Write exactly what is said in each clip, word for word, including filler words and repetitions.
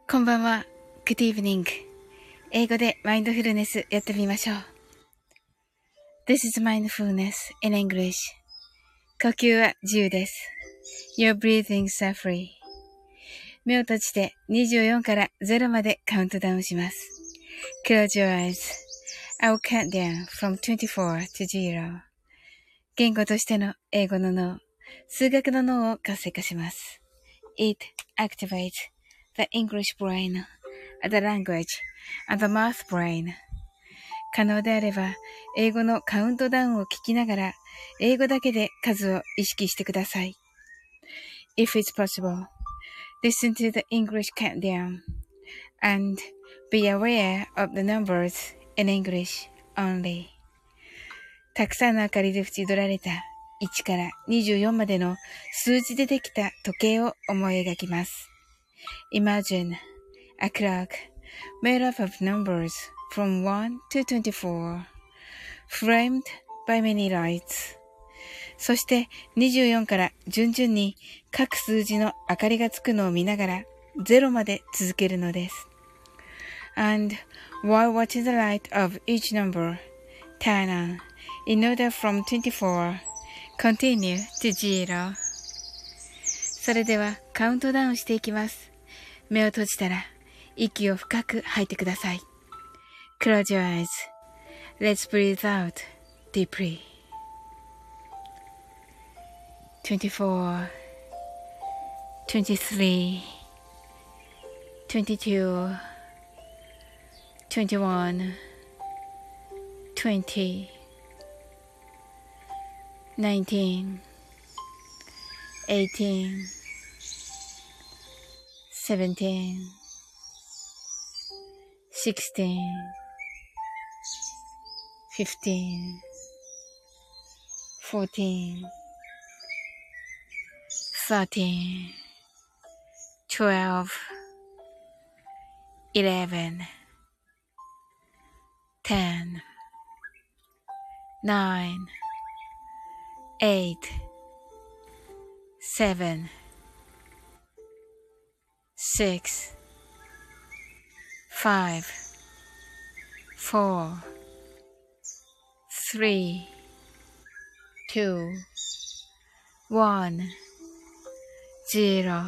こんばんは。Good evening. 英語でマインドフルネスやってみましょう。This is mindfulness in English. 呼吸は自由です。Your breathings are free. 目を閉じてにじゅうよんからゼロまでカウントダウンします。Close your eyes. I will count down from twenty-four to zero. 言語としての英語の脳、数学の脳を活性化します。It activates the English brain, the language, and the math brain. 可能であれば、英語のカウントダウンを聞きながら、英語だけで数を意識してください。If it's possible, listen to the English countdown, and be aware of the numbers in English only. たくさんの明かりで縁取られたいちからにじゅうよんまでの数字でできた時計を思い描きます。Imagine a clock made up of numbers from one to twenty-four, framed by many lights. そしてにじゅうよんから順々に各数字の明かりがつくのを見ながらゼロまで続けるのです。And while watching the light of each number, turn on in order from twenty-four, continue to zero. それではカウントダウンしていきます。目を閉じたら息を深く吐いてください。Close your eyes. Let's breathe out deeply. twenty-four, twenty-three, twenty-two, twenty-one, twenty, nineteen, eighteen, seventeen, sixteen, fifteen, fourteen, thirteen, twelve, eleven, ten, nine, eight, seven, six, five, four, three, two, one, zero.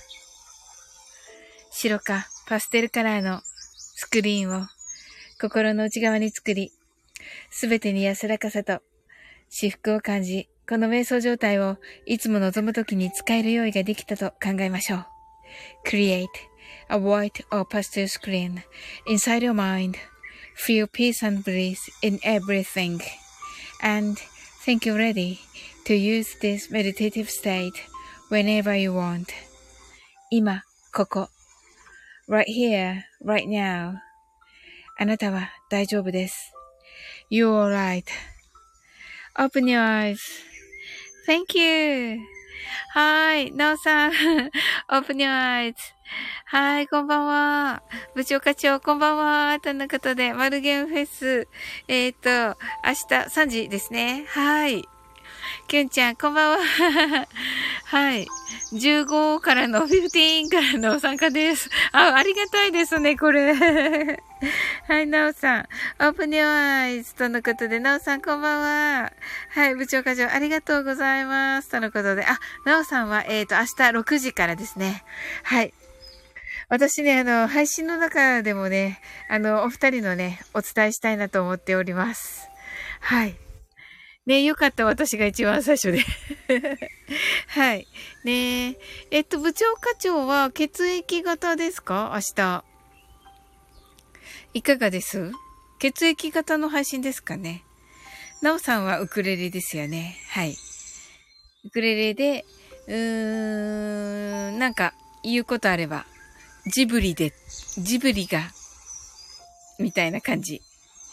白かパステルカラーのスクリーンを心の内側に作り、すべてに安らかさと至福を感じ、この瞑想状態をいつも望むときに使える用意ができたと考えましょう。Create a white or pastel screen inside your mind. Feel peace and bliss in everything. And think you're ready to use this meditative state whenever you want. 今、ここ。Right here, right now. あなたは大丈夫です。You're alright.Open your eyes. Thank you. はい。なおさん。Open your eyes. はい。こんばんは。部長課長、こんばんは。とのことで、マルゲンフェス。えっと、明日さんじですね。はい。きゅんちゃん、こんばんは。はい。じゅうごからの、じゅうごからの参加です。あ、ありがたいですね、これ。はい、なおさん。Open your eyes とのことで、なおさんこんばんは。はい、部長課長ありがとうございます。とのことで、あ、なおさんは、えっと、明日ろくじからですね。はい。私ね、あの、配信の中でもね、あの、お二人のね、お伝えしたいなと思っております。はい。ね、よかった、私が一番最初で。はい。ねえ。っと、部長課長は血液型ですか？明日。いかがです？血液型の配信ですかね。なおさんはウクレレですよね。はい。ウクレレで、うーん、なんか言うことあれば、ジブリで、ジブリが、みたいな感じ。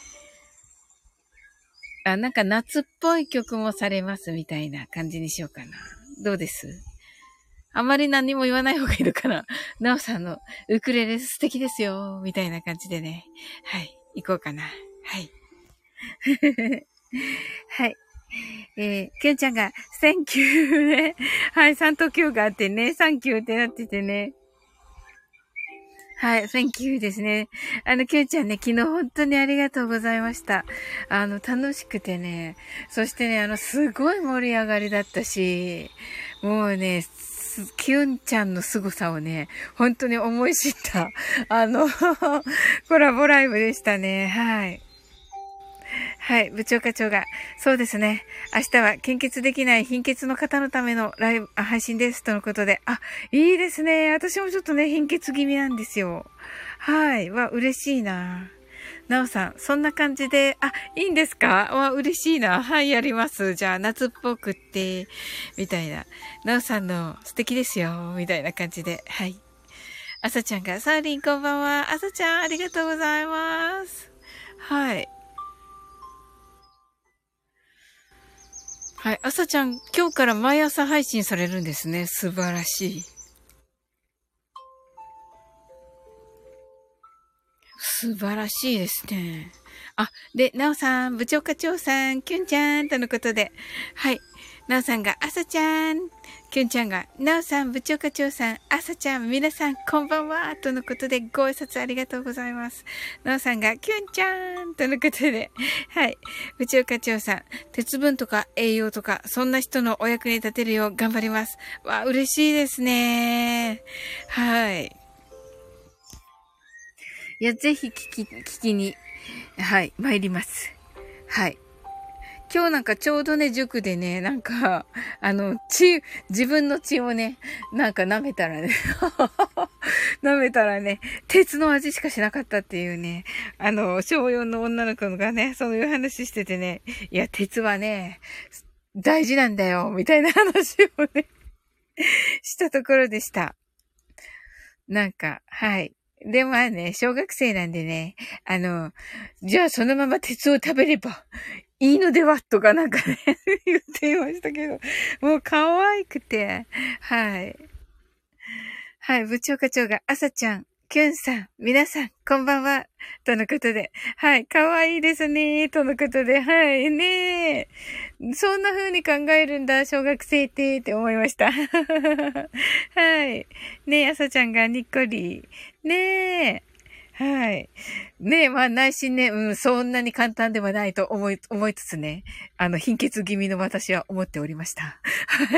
あ、なんか夏っぽい曲もされますみたいな感じにしようかな。どうです？あまり何も言わない方がいいのかな。なおさんのウクレレ素敵ですよ、みたいな感じでね。はい、行こうかな。はい。はい。えー、きゅんちゃんが、Thank you ね。はい、さんときゅうがあってね、サンキューってなっててね。 はい、Thank you ですね。あの、きゅんちゃんね、昨日本当にありがとうございました。あの、楽しくてね、そしてね、あの、すごい盛り上がりだったし、もうね、きゅんちゃんの凄さをね、本当に思い知った、あの、コラボライブでしたね。はい。はい、部長課長が、そうですね。明日は献血できない貧血の方のためのライブ、あ配信です。とのことで。あ、いいですね。私もちょっとね、貧血気味なんですよ。はい。わ、嬉しいな。なおさん、そんな感じで、あ、いいんですかわ、嬉しいな。はい、やります。じゃあ、夏っぽくって、みたいな。なおさんの素敵ですよ。みたいな感じで。はい。あさちゃんが、サーリンこんばんは。あさちゃん、ありがとうございます。はい。はい。朝ちゃん、今日から毎朝配信されるんですね。素晴らしい。素晴らしいですね。あ、で、なおさん、部長課長さん、きゅんちゃん、とのことで。はい。なおさんが、あさちゃん。きゅんちゃんが、なおさん、部長課長さん、あさちゃん、皆さん、こんばんは。とのことで、ご挨拶ありがとうございます。なおさんが、きゅんちゃん。とのことで。はい。部長課長さん、鉄分とか栄養とか、そんな人のお役に立てるよう頑張ります。わ、嬉しいですね。はい。いや、ぜひ聞き、聞きに、はい、参ります。はい。今日なんかちょうどね、塾でね、なんか、あの、血、自分の血をね、なんか舐めたらね、舐めたらね、鉄の味しかしなかったっていうね、あの、小よんの女の子がね、そういう話しててね、いや、鉄はね、大事なんだよ、みたいな話をね、したところでした。なんか、はい。で、まあね、小学生なんでね、あの、じゃあそのまま鉄を食べればいいのではとかなんかね、言っていましたけど、もう可愛くて、はい。はい、部長課長が、朝ちゃん、キュンさん、皆さん、こんばんは。とのことで、はい、可愛いですね。とのことで、はい、ねえ。そんな風に考えるんだ、小学生って、って思いました。はい。ねえ、朝ちゃんがにっこり。ねえ。はい。ねえ、まあ内心ね、うん、そんなに簡単ではないと思い、思いつつね、あの、貧血気味の私は思っておりました。はい。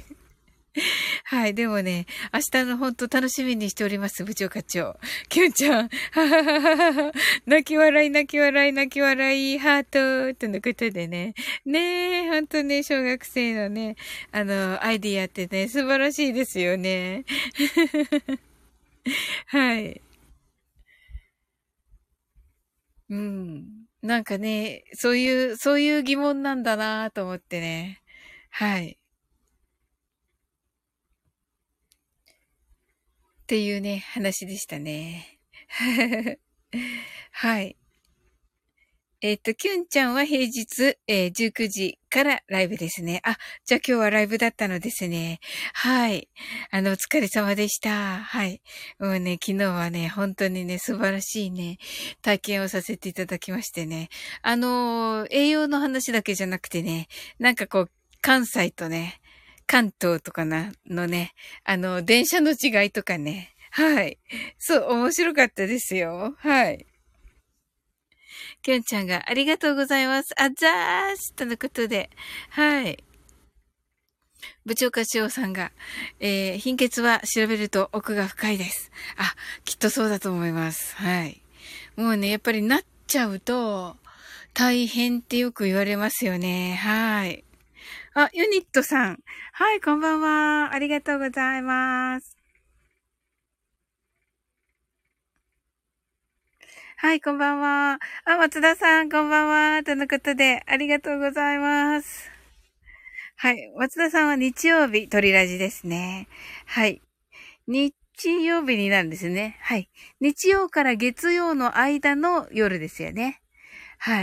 はい。でもね、明日の本当楽しみにしております、部長課長。きゅんちゃん、ははははは、泣き笑い、泣き笑い、泣き笑い、ハート、とのことでね。ねえ、本当ね、小学生のね、あの、アイディアってね、素晴らしいですよね。はい。うん。なんかね、そういう、そういう疑問なんだなと思ってね。はい。っていうね、話でしたね。はい。えっと、キュンちゃんは平日、えー、じゅうくじからライブですね。あ、じゃあ今日はライブだったのですね。はい。あの、お疲れ様でした。はい。もうね、昨日はね、本当にね、素晴らしいね、体験をさせていただきましてね。あのー、栄養の話だけじゃなくてね、なんかこう、関西とね、関東とかな、のね、あの、電車の違いとかね。はい。そう、面白かったですよ。はい。きゅんちゃんがありがとうございます。あざーすとのことで。はい。部長課長さんが、えー、貧血は調べると奥が深いです。あ、きっとそうだと思います。はい。もうね、やっぱりなっちゃうと、大変ってよく言われますよね。はい。あ、ユニットさん。はい、こんばんは。ありがとうございます。はい、こんばんは。あ、松田さん、こんばんは。とのことで、ありがとうございます。はい。松田さんは日曜日、鳥ラジですね。はい。日曜日になるんですね。はい。日曜から月曜の間の夜ですよね。はい。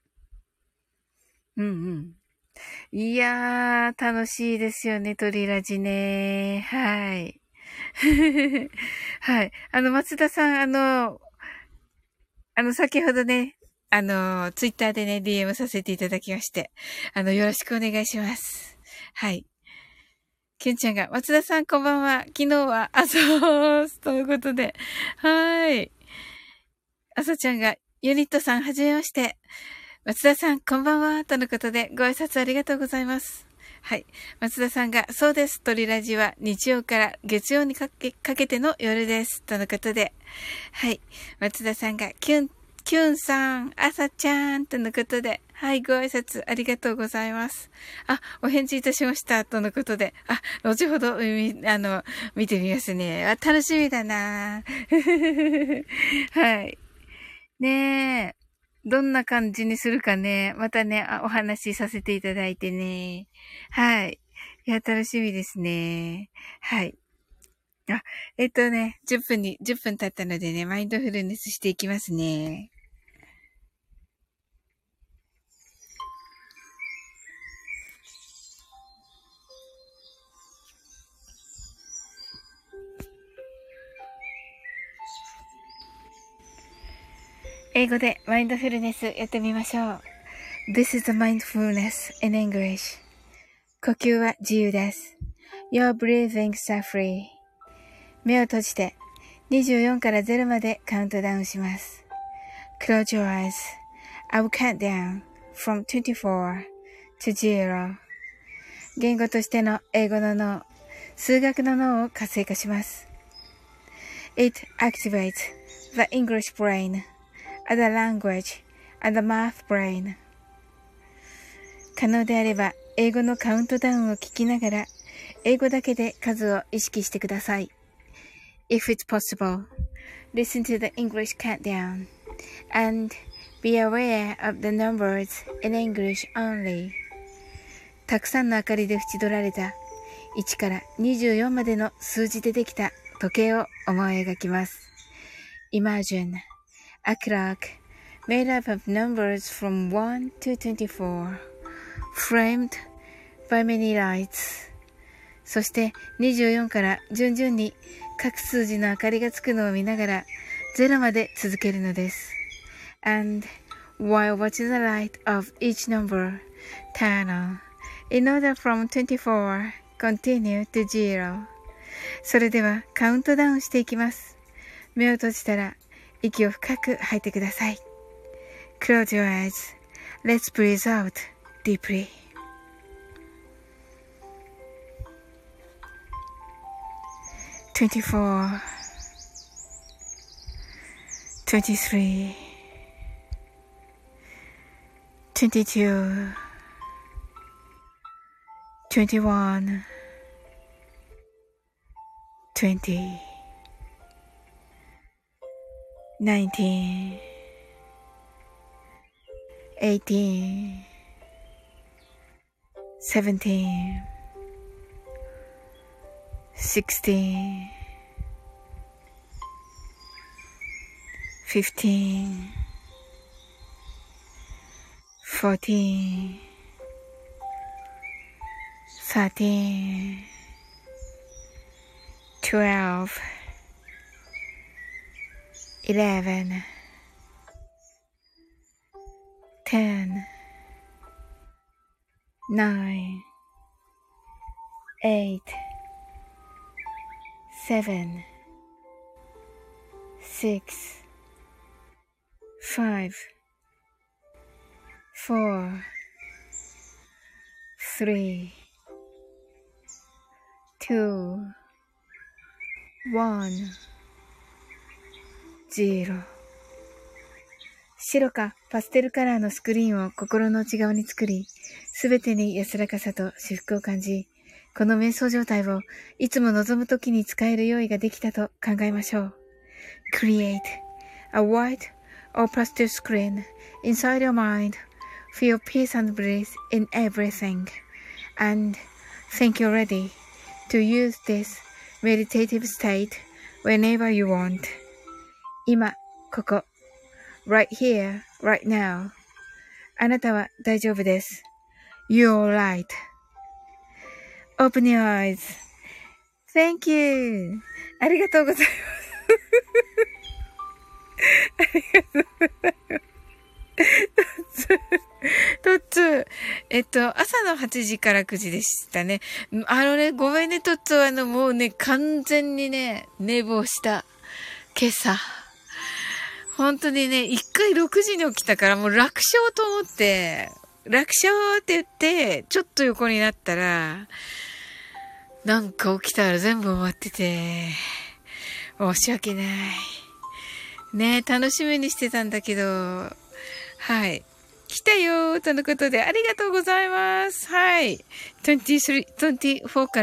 うんうん。いやー、楽しいですよね、鳥ラジね。はい。はい。あの、松田さん、あの、あの、先ほどね、あの、ツイッターでね、ディーエム させていただきまして、あの、よろしくお願いします。はい。 キュンちゃんが、松田さんこんばんは。昨日は、あ、そう、ということで。はい。あさちゃんが、ユニットさんはじめまして。松田さんこんばんは。とのことで、ご挨拶ありがとうございます。はい。松田さんが、そうです。トリラジは日曜から月曜にかけ、かけての夜です。とのことで。はい。松田さんが、キュン、キュンさん、あさちゃん、とのことで。はい、ご挨拶ありがとうございます。あ、お返事いたしました。とのことで。あ、後ほど、みあの、見てみますね。あ、楽しみだなはい。ねえ。どんな感じにするかね。またね、あお話しさせていただいてね。はい。いや、楽しみですね。はい。あ、えっとね、じゅっぷんに、じゅっぷん経ったのでね、マインドフルネスしていきますね。英語でマインドフルネスやってみましょう。This is the mindfulness in English. 呼吸は自由です。Your breathings are free. 目を閉じてにじゅうよんからゼロまでカウントダウンします。Close your eyes. I will count down from twenty-four to zero. 言語としての英語の脳、数学の脳を活性化します。It activates the English brain, the language, and the math brain. 可能であれば、英語のカウントダウンを聞きながら、英語だけで数を意識してください。If it's possible, listen to the English countdown, and be aware of the numbers in English only. たくさんの明かりで縁取られたいちからにじゅうよんまでの数字でできた時計を思い描きます。Imagine a clock made up of numbers from one to twenty-four, framed by many lights. そしてにじゅうよんから順々に各数字の明かりがつくのを見ながらゼロまで続けるのです。And while watching the light of each number turn on, in order from twenty-four, continue to zero. それではカウントダウンしていきます。目を閉じたら息を深く吐いてください。Close your eyes. Let's breathe out deeply. twenty-four, twenty-three, twenty-two, twenty-one, twenty, nineteen, eighteen, seventeen, sixteen, fifteen, fourteen, thirteen, twelve, eleven, ten, nine, eight, seven, six, five, four, three, two, one, zero. 白かパステルカラーのスクリーンを心の内側に作り、すべてに安らかさと至福を感じ、この瞑想状態をいつも望むときに使える用意ができたと考えましょう。Create a white or pastel screen inside your mind. Feel peace and bliss in everything. And think you're ready to use this meditative state whenever you want. 今、ここ。Right here, right now. あなたは大丈夫です。You're right. Open your eyes. Thank you. ありがとうございます。ありがとうございます。トッツー、ええっと、朝のはちじからくじでしたね。あのね、ごめんね、トッツー、あの、もうね、完全にね、寝坊した。今朝。本当にね、一回ろくじに起きたからもう楽勝と思って、楽勝って言って、ちょっと横になったら、なんか起きたら全部終わってて、申し訳ない。ね、楽しみにしてたんだけど、はい。来たよーとのことで、ありがとうございます。はい。にじゅうさん、にじゅうよんから、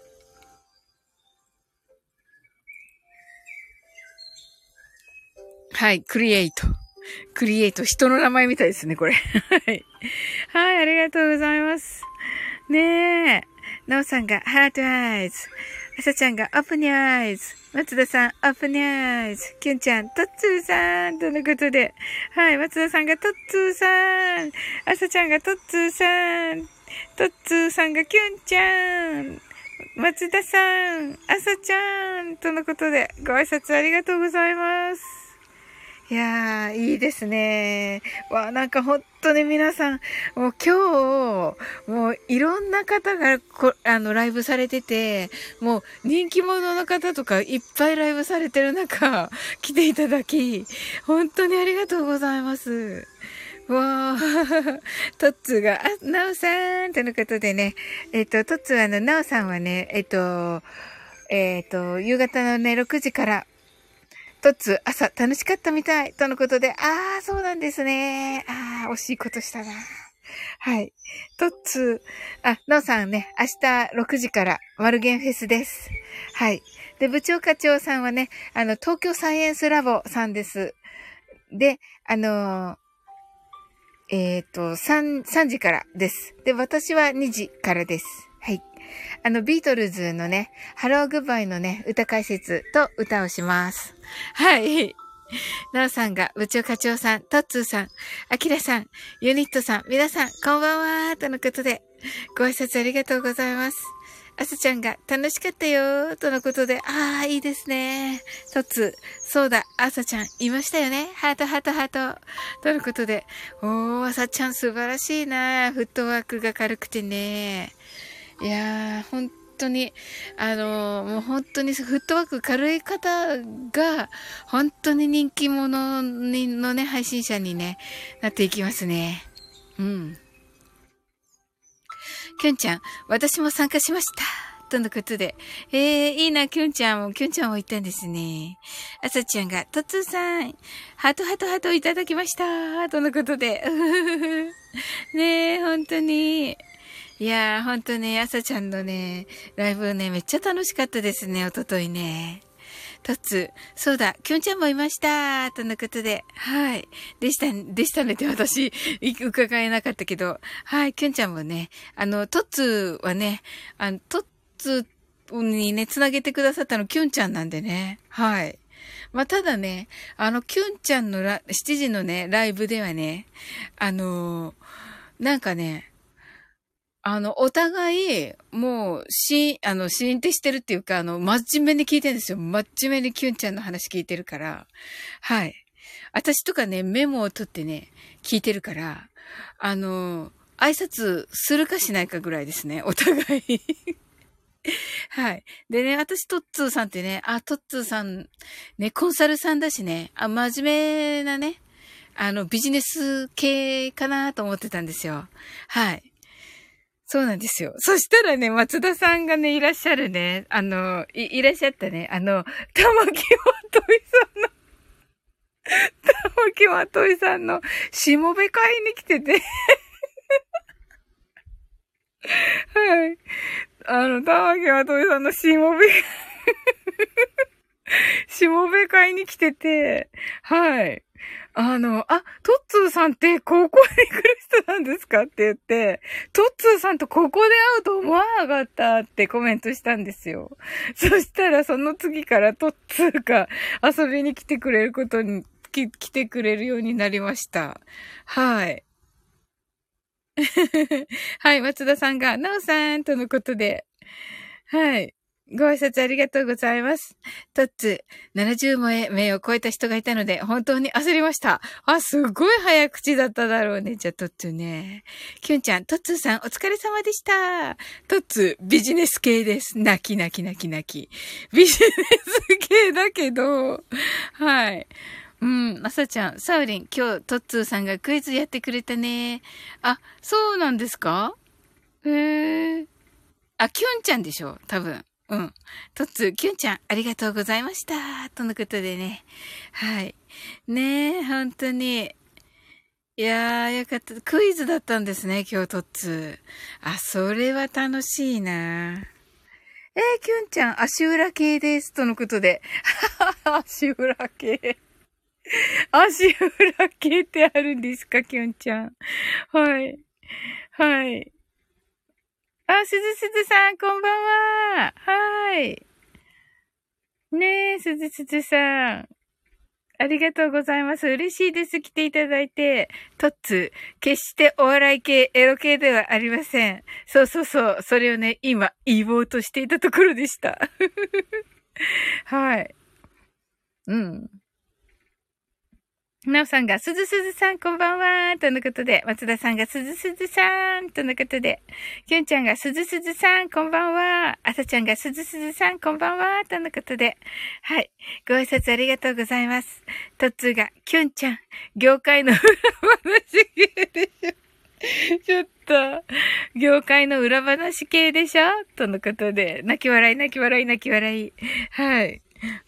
はい、クリエイト。クリエイト。人の名前みたいですね、これ。はい。はい、ありがとうございます。ねえ。なおさんが、ハートアイズ。あさちゃんが、オープニアイズ。松田さん、オープニアイズ。きゅんちゃん、トッツーさん。とのことで。はい、松田さんが、トッツーさん。あさちゃんが、トッツーさん。トッツーさんが、きゅんちゃん。松田さん、あさちゃん。とのことで、ご挨拶ありがとうございます。いやー、いいですね。わ、なんか本当に皆さん、もう今日、もういろんな方がこ、あの、ライブされてて、もう人気者の方とかいっぱいライブされてる中、来ていただき、本当にありがとうございます。わー、トッツーが、あ、ナオさんとのことでね、えっと、トッツーはあの、ナオさんはね、えっと、えっと、夕方のね、ろくじから、トッツー、朝楽しかったみたい。とのことで、あー、そうなんですね。あー、惜しいことしたな。はい。トッツー、あ、ノーさんね、明日ろくじからマルゲンフェスです。はい。で、部長課長さんはね、あの、東京サイエンスラボさんです。で、あのー、えっと、さん、さんじからです。で、私はにじからです。はい。あの、ビートルズのね、ハローグッバイのね、歌解説と歌をします。はい。なおさんが、部長課長さん、トッツーさん、アキラさん、ユニットさん、皆さん、こんばんは、とのことで、ご挨拶ありがとうございます。あさちゃんが、楽しかったよ、とのことで、ああ、いいですね。トッツー、そうだ、あさちゃん、いましたよね。ハート、ハート、ハート。とのことで、おー、あさちゃん素晴らしいな。フットワークが軽くてね。いやー、本当に、あのー、もう本当にフットワーク軽い方が、本当に人気者にのね、配信者にね、なっていきますね。うん。きゅんちゃん、私も参加しました。とのことで。えー、いいな、きゅんちゃんも、きゅんちゃんも言ったんですね。あさちゃんが、とつーさん、ハートハートハートいただきました。とのことで。ねえ、本当に。いやー、ほんとね、あさちゃんのね、ライブね、めっちゃ楽しかったですね、おとといね。とつ、そうだ、きゅんちゃんもいました、とのことで、はい。でした、でしたねって私、伺えなかったけど、はい、きゅんちゃんもね、あの、とつはね、あの、とつにね、つなげてくださったのきゅんちゃんなんでね、はい。まあ、ただね、あの、きゅんちゃんのラ、しちじのね、ライブではね、あのー、なんかね、あの、お互い、もう、し、あの、シーンってしてるっていうか、あの、真面目に聞いてるんですよ。真面目にキュンちゃんの話聞いてるから。はい。私とかね、メモを取ってね、聞いてるから、あの、挨拶するかしないかぐらいですね。お互い。はい。でね、私、トッツーさんってね、あ、トッツーさん、ね、コンサルさんだしね、あ、真面目なね、あの、ビジネス系かなと思ってたんですよ。はい。そうなんですよ。そしたらね、松田さんがね、いらっしゃるね、あの、い、いらっしゃったね、あの、玉木まといさんの、玉木まといさんの、しもべ会に来ててはい。あの、玉木まといさんのしもべしもべ会に来てて、はい。あの、あ、トッツーさんって高校に来る人なんですかって言って、トッツーさんとここで会うと思わなかったってコメントしたんですよ。そしたらその次からトッツーが遊びに来てくれることに、き来てくれるようになりました。はい。はい、松田さんが、なおさんとのことで、はい。 ご挨拶ありがとうございます。トッツー、ななじゅう名を超えた人がいたので、本当に焦りました。あ、すごい早口だっただろうね。じゃあ、トッツーね。キュンちゃん、トッツーさん、お疲れ様でした。トッツー、ビジネス系です。泣き泣き泣き泣き。ビジネス系だけど、はい。うん、あさちゃん、サウリン、今日、トッツーさんがクイズやってくれたね。あ、そうなんですか？へえ。あ、キュンちゃんでしょ多分。うん。トッツー、キュンちゃん、ありがとうございました。とのことでね。はい。ねえ、本当に。いやー、よかった。クイズだったんですね、今日トッツー。あ、それは楽しいな。えー、キュンちゃん、足裏系です。とのことで。足裏系。足裏系ってあるんですか、キュンちゃん。はい。はい。あ、すずすずさん、こんばんは。はい。ねえ、すずすずさん。ありがとうございます。嬉しいです。来ていただいて。トッツー、決してお笑い系、エロ系ではありません。そうそうそう。それをね、今、言おうとしていたところでした。はい。うん。なおさんが、すずすずさんこんばんはとのことで、松田さんがすずすずさんとのことで、きゅんちゃんがすずすずさんこんばんは、あさちゃんがすずすずさんこんばんはとのことで、はい。ご挨拶ありがとうございます。とっつーが、きゅんちゃん、業界の裏話系でしょ。ちょっと、業界の裏話系でしょとのことで、泣き笑い泣き笑い泣き笑い。はい。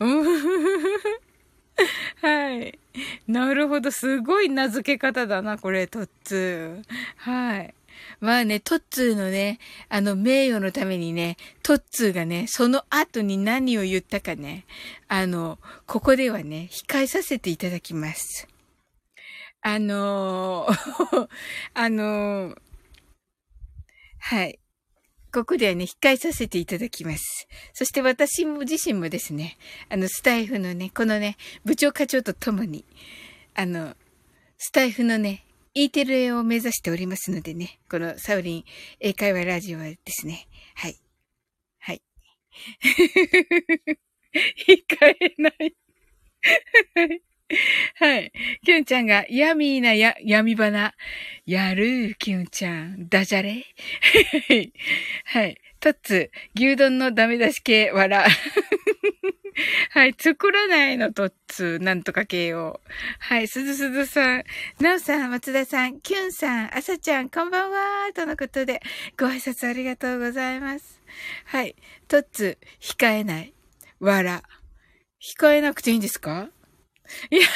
はい。なるほど。すごい名付け方だな、これ、トッツー。はい。まあね、トッツーのね、あの、名誉のためにね、トッツーがね、その後に何を言ったかね、あの、ここではね、控えさせていただきます。あのー、あのー、はい。ここではね、控えさせていただきます。そして私も自身もですね、あの、スタイフのね、このね、部長課長とともに、あの、スタイフのね、E テレを目指しておりますのでね、このサウリン英会話ラジオはですね、はい。はい。控えない。はい。キュンちゃんが、ヤミーなや、闇花。やるキュンちゃん。ダジャレはい。トッツ、牛丼のダメ出し系、わら。はい。作らないの、トッツ、なんとか系を。はい。すずすずさん、なおさん、松田さん、キュンさん、あさちゃん、こんばんは。とのことで、ご挨拶ありがとうございます。はい。トッツ、控えない。わら。控えなくていいんですか？いや、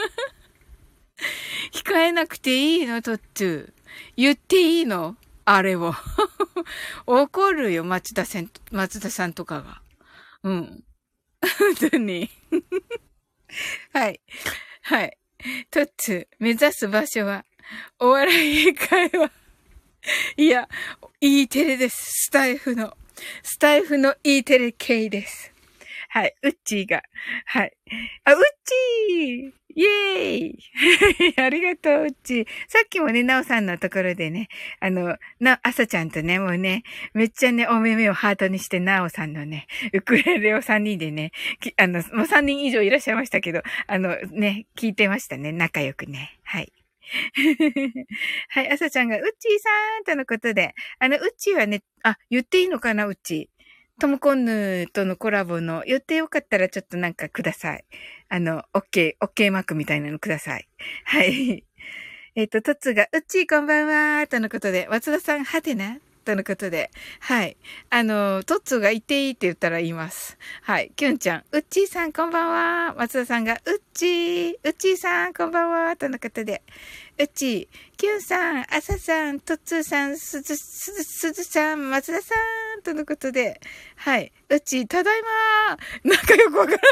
控えなくていいの、トッツー。言っていいのあれを。怒るよ、松田さん、松田さんとかが。うん。本当に。はい。はい。トッツー、目指す場所は、お笑い英会話。いや、E テレです。スタイフの。スタイフの E テレ系です。はい。ウッチーが。はい。あ、ウッチーイエーイありがとう、ウッチー。さっきもね、ナオさんのところでね、あの、な、アサちゃんとね、もうね、めっちゃね、お目目をハートにして、ナオさんのね、ウクレレをさんにんでね、きあの、もうさんにん以上いらっしゃいましたけど、あの、ね、聞いてましたね、仲良くね。はい。はい、アサちゃんが、ウッチーさんとのことで、あの、ウッチーはね、あ、言っていいのかな、ウッチー。トムコンヌとのコラボの予定よかったらちょっとなんかください。あの、OK、OK マークみたいなのください。はい。えっと、トッツーが、うっちーこんばんはとのことで、松田さん、はてなとのことで、はい。あの、トッツーが言っていいって言ったら言います。はい。キュンちゃん、うっちーさんこんばんは。松田さんが、うっちー、うっちーさんこんばんはとのことで、うっちー、キュンさん、あささん、トッツーさん、すず、すず、すずさん、松田さんとのことで、はい。うっちー、ただいまー。なんかよくわからない。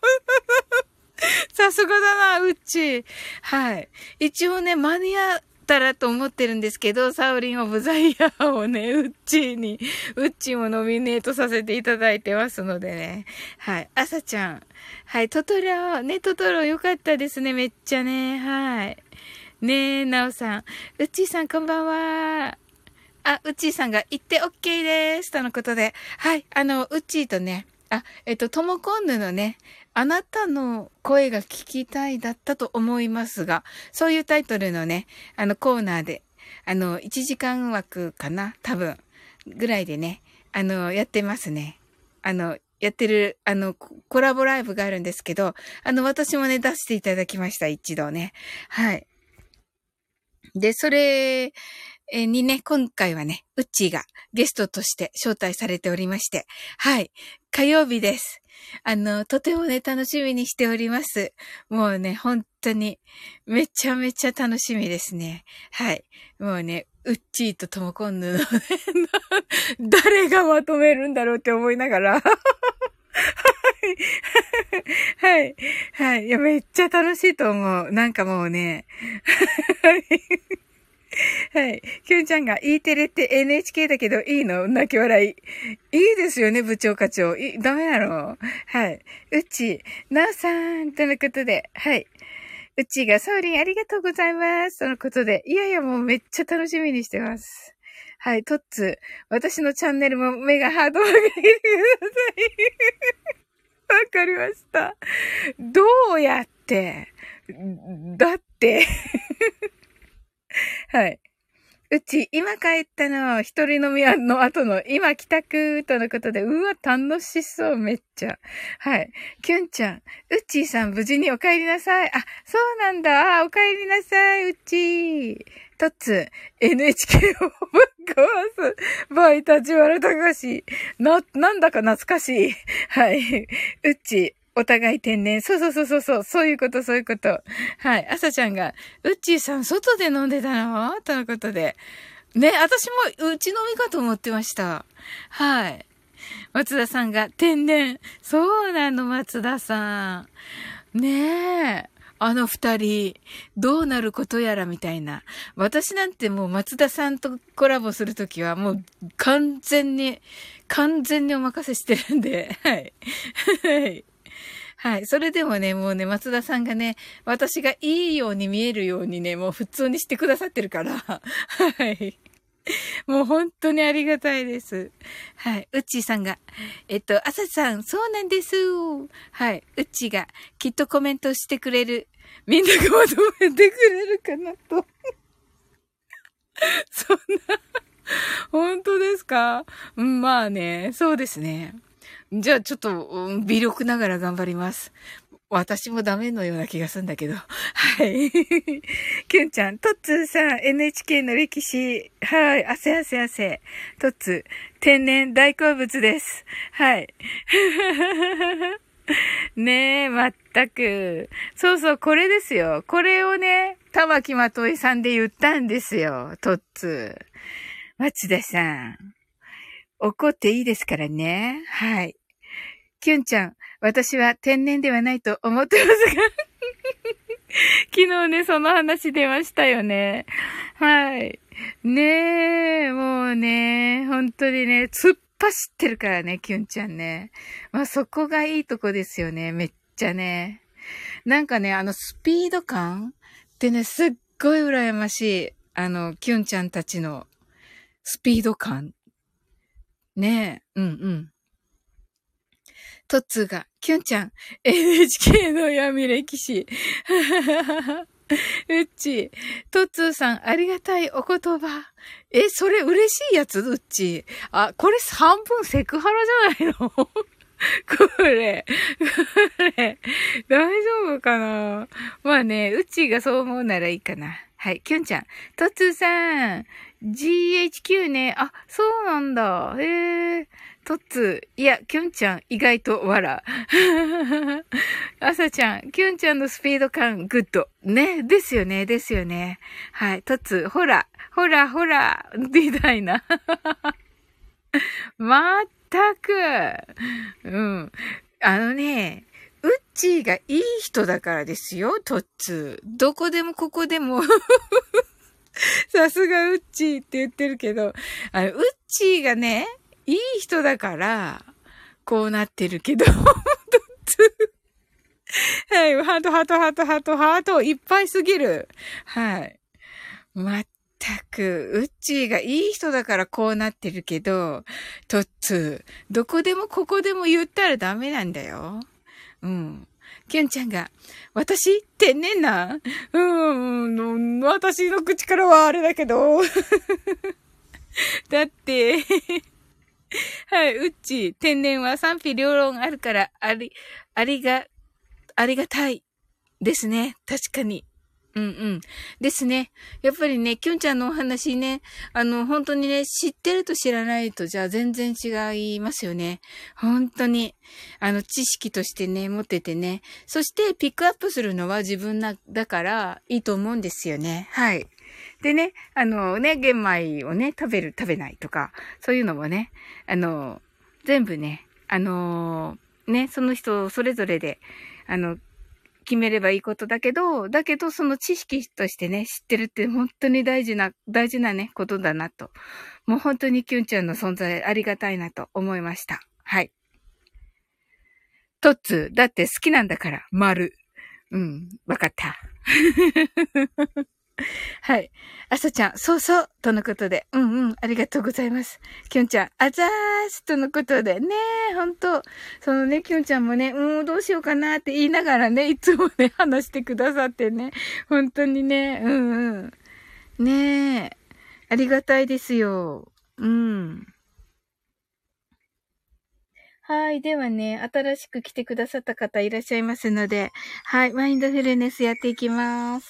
さすがだな、うっちー。はい。一応ね、間に合ったらと思ってるんですけど、サウリンオブザイヤーをね、うっちーに、うっちーもノミネートさせていただいてますのでね。はい。あさちゃん。はい。トトロ、ね、トトロよかったですね、めっちゃね。はい。ねえ、なおさん。うっちーさんこんばんは。 あ、うっちーさんが言って OK です。とのことで。はい。あの、うっちーとね、あ、えっと、ともこんぬのね、あなたの声が聞きたいだったと思いますが、そういうタイトルのね、あのコーナーで、あの、いちじかん枠かな多分、ぐらいでね、あの、やってますね。あの、やってる、あの、コラボライブがあるんですけど、あの、私もね、出していただきました、一度ね。はい。で、それにね、今回はね、うっちーがゲストとして招待されておりまして、はい、火曜日です。あの、とてもね、楽しみにしております。もうね、本当に、めちゃめちゃ楽しみですね。はい。もうね、うっちーとともこんぬのね、誰がまとめるんだろうって思いながら、はい。はい。いや、めっちゃ楽しいと思う。なんかもうね。はい。はい。きゅんちゃんが E テレって エヌエイチケー だけどいいの？泣き笑い。いいですよね、部長課長。い、ダメなの？はい。うち、なおさん、とのことで。はい。うちがソーリンありがとうございます。とのことで。いやいや、もうめっちゃ楽しみにしてます。はい。トッツ、私のチャンネルも目がハードを上げてください。わかりました。どうやって、だって、はい。うち、今帰ったの、一人飲みの後の、今帰宅とのことで、うわ、楽しそう、めっちゃ。はい。きゅんちゃん、うっちーさん、無事にお帰りなさい。あ、そうなんだ。あ、お帰りなさい、うっちー。とつ、エヌエイチケー をぶっ壊す。バイタジワラたかし。な、なんだか懐かしい。はい。うっちー。お互い天然。そうそうそうそうそう。そういうこと、そういうこと。はい。朝ちゃんが、うっちーさん、外で飲んでたのとのことで。ね、私も、うち飲みかと思ってました。はい。松田さんが、天然。そうなの、松田さん。ねえ。あの二人、どうなることやらみたいな。私なんてもう松田さんとコラボするときはもう完全に、完全にお任せしてるんで、はい。はい。はい。それでもね、もうね、松田さんがね、私がいいように見えるようにね、もう普通にしてくださってるから。はい。もう本当にありがたいです。はい。うっちーさんが、えっと、あささん、そうなんです。はい。うっちーが、きっとコメントしてくれる。みんながまとめてくれるかなと。そんな、本当ですか？うん、まあね、そうですね。じゃあちょっと、うん、微力ながら頑張ります。私もダメのような気がするんだけど。はい。キュンちゃん、トッツーさん、エヌエイチケー の歴史。はい。汗汗汗。トッツー、天然大好物です。はい。ねえ、まったく。そうそう、これですよ。これをね、玉木まといさんで言ったんですよ。トッツー。松田さん。怒っていいですからね。はい。キュンちゃん、私は天然ではないと思ってますが。昨日ね、その話出ましたよね。はい。ねえ、もうね、本当にね、突っ走ってるからね、キュンちゃんね。まあそこがいいとこですよね、めっちゃね。なんかね、あのスピード感ってね、すっごい羨ましい。あの、キュンちゃんたちのスピード感。ねえ、うんうん。トッツーが、キュンちゃん、エヌエイチケー の闇歴史。うっち、トッツーさん、ありがたいお言葉。え、それ嬉しいやつうっち。あ、これ半分セクハラじゃないのこれ、これ、大丈夫かな？まあね、うっちがそう思うならいいかな。はい、キュンちゃん。トッツーさん、ジーエイチキュー ね。あ、そうなんだ。へえ。トッツー、いや、キュンちゃん、意外と笑。あさちゃん、キュンちゃんのスピード感、グッド。ね、ですよね、ですよね。はい、トッツー、ほら、ほら、ほら、みたいな。まったく。うん。あのね、ウッチーがいい人だからですよ、トッツー。どこでもここでも。さすがウッチーって言ってるけど、あの、ウッチーがね、いい人だから、こうなってるけど、トッツー。はい、ハート、ハート、ハート、ハート、ハート、いっぱいすぎる。はい。まったく、うっちーがいい人だからこうなってるけど、とっつー、どこでもここでも言ったらダメなんだよ。うん。きゅんちゃんが、私天然なうーん、私の口からはあれだけど。だって、はい、うっちー、天然は賛否両論あるから、あり、ありが、ありがたいですね。確かに。うんうん。ですね。やっぱりね、きゅんちゃんのお話ね、あの、本当にね、知ってると知らないとじゃあ全然違いますよね。本当に。あの、知識としてね、持っててね。そしてピックアップするのは自分な、だからいいと思うんですよね。はい。でね、あのね、玄米をね、食べる、食べないとか、そういうのもね、あの、全部ね、あの、ね、その人それぞれで、あの、決めればいいことだけど、だけどその知識としてね、知ってるって本当に大事な、大事なね、ことだなと。もう本当にキュンちゃんの存在ありがたいなと思いました。はい。トッツー、だって好きなんだから、丸。うん、わかった。はい。あさちゃん、そうそう、とのことで。うんうん、ありがとうございます。きょんちゃん、あざーす、とのことで。ねえ、ほんと。そのね、きょんちゃんもね、うん、どうしようかなって言いながらね、いつもね、話してくださってね。本当にね、うんうん。ねえ、ありがたいですよ。うん。はい。ではね、新しく来てくださった方いらっしゃいますので、はい。マインドフルネスやっていきます。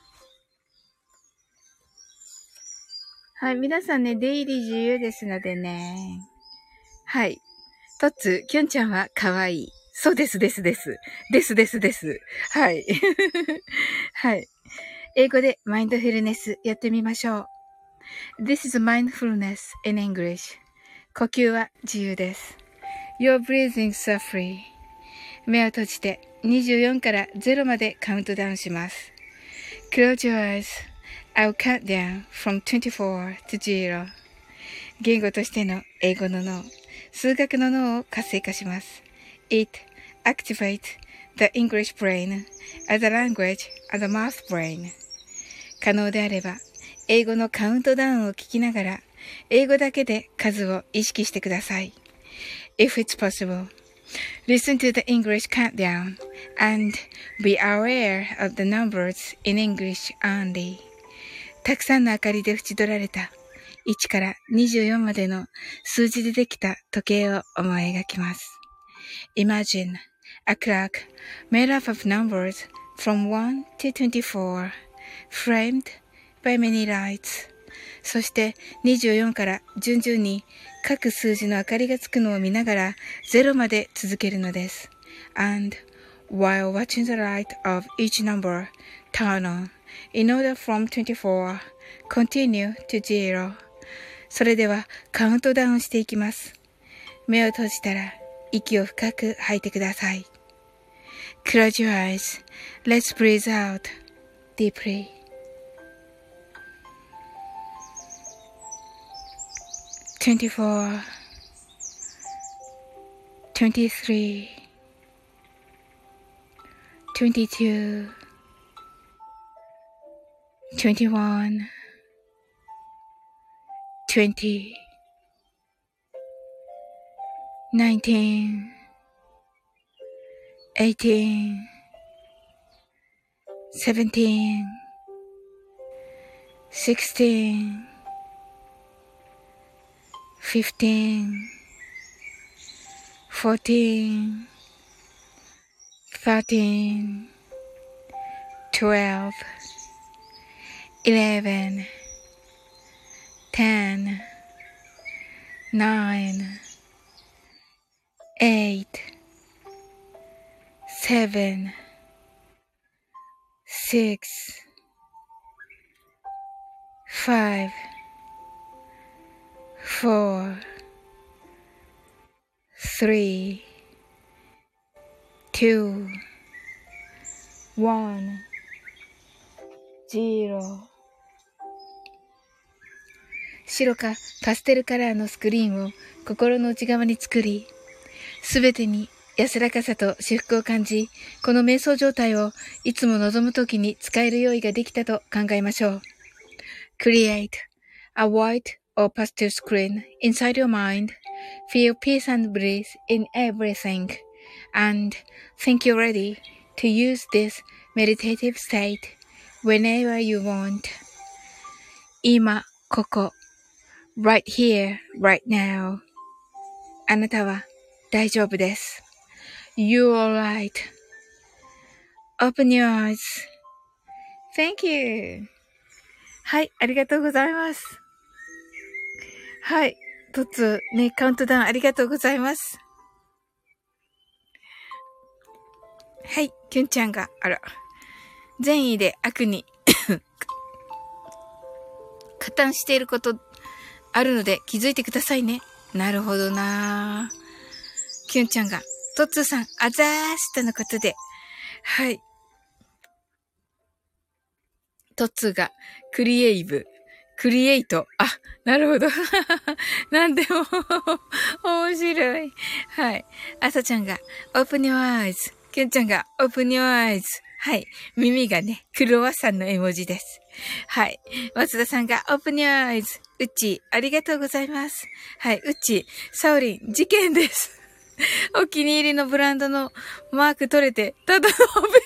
はい。皆さんね、出入り自由ですのでね。はい。トッツ、キョンちゃんは可愛い。そうです、です、です。ですですです。はい。はい。英語でマインドフルネスやってみましょう。This is mindfulness in English. 呼吸は自由です。Your breathing so free. 目を閉じてにじゅうよんからゼロまでカウントダウンします。Close your eyes.I'll count down from twenty-four to zero. 言語としての英語の脳、数学の脳を活性化します。It activates the English brain as a language and a math brain. 可能であれば、英語のカウントダウンを聞きながら、英語だけで数を意識してください。If it's possible, listen to the English countdown and be aware of the numbers in English only.たくさんの明かりで縁取られたいちからにじゅうよんまでの数字でできた時計を思い描きます。Imagine a clock made up of numbers from one to twenty-four, framed by many lights. そしてにじゅうよんから順々に各数字の明かりがつくのを見ながらゼロまで続けるのです。And while watching the light of each number turn on,In order from twenty-four, continue to zero. それではカウントダウンしていきます。目を閉じたら息を深く吐いてください。Close your eyes. Let's breathe out deeply. twenty-four, twenty-three, twenty-two,Twenty-one, twenty, nineteen, eighteen, seventeen, sixteen, fifteen, fourteen, thirteen, twelve.Eleven, ten, nine, eight, seven, six, five, four, three, two, one, zero.白かパステルカラーのスクリーンを心の内側に作り、すべてに安らかさと至福を感じ、この瞑想状態をいつも望むときに使える用意ができたと考えましょう。 Create a white or pastel screen inside your mind. Feel peace and bliss in everything. And think you're ready to use this meditative state whenever you want. 今、ここ。right here, right now. あなたは大丈夫です。You're alright.Open your eyes.Thank you. はい、ありがとうございます。はい、とつ、ね、カウントダウンありがとうございます。はい、きゅんちゃんが、あら、善意で悪に、加担していることあるので気づいてくださいね。なるほどなぁ。きゅんちゃんが、とつさん、あざーしとのことで、はい。トッツーが、クリエイブ、クリエイト。あ、なるほど。なんでも、面白い。はい。あさちゃんが、open your eyes。きゅんちゃんが、open your eyes。はい。耳がね、クロワッサンの絵文字です。はい。松田さんが、open your eyes。うっちー、ありがとうございます。はい。うっちー、サオリン、事件です。お気に入りのブランドのマーク取れて、ただのベースになりました。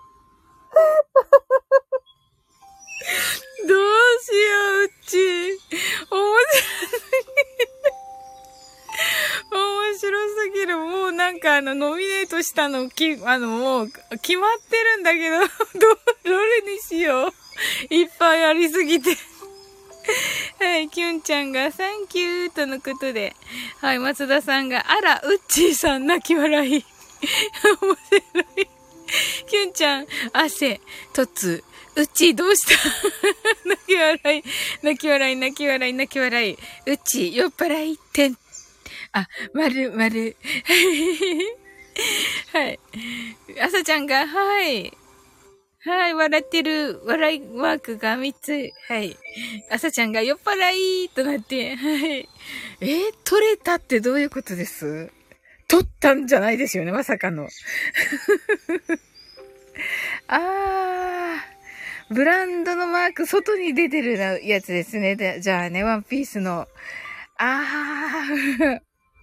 どうしよう、うち。面白すぎる。面白すぎる。もうなんかあの、ノミネートしたの、き、あの、もう、決まってるんだけど、ど、どれにしよう。いっぱいありすぎて。はい、キュンちゃんが、サンキューとのことで。はい、松田さんが、あら、うっちーさん、泣き笑い。面白い。キュンちゃん、汗、とつ、うち、どうした泣き笑い、泣き笑い、泣き笑い、泣き笑い。うち、酔っ払い、てん。あ、まる、まる。はい。あさちゃんが、はい。はい、笑ってる、笑いマークがみっつ。はい。あさちゃんが酔っ払いとなって、はい。えー、取れたってどういうことです？取ったんじゃないですよね、まさかの。あー。ブランドのマーク、外に出てるやつですね。で、じゃあね、ワンピースの。あー。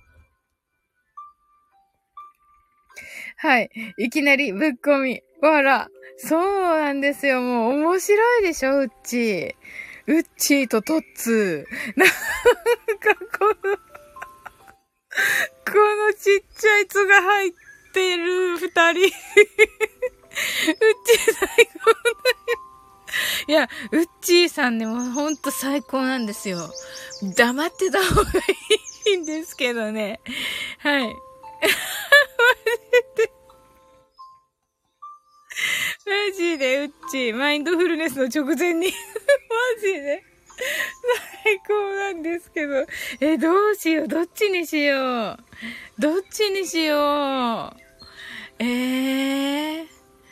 はい。いきなりぶっこみ。わら。そうなんですよ。もう面白いでしょ、うっちー。うっちーとトッツー。なんかこの、このちっちゃいつが入ってる二人。うっちー最高だよ。いや、うっちーさんね、もうほんと最高なんですよ。黙ってた方がいいんですけどね。はい。マジで、うっちー、マインドフルネスの直前に。マジで。最高なんですけど。え、どうしよう、どっちにしよう。どっちにしよう。えー。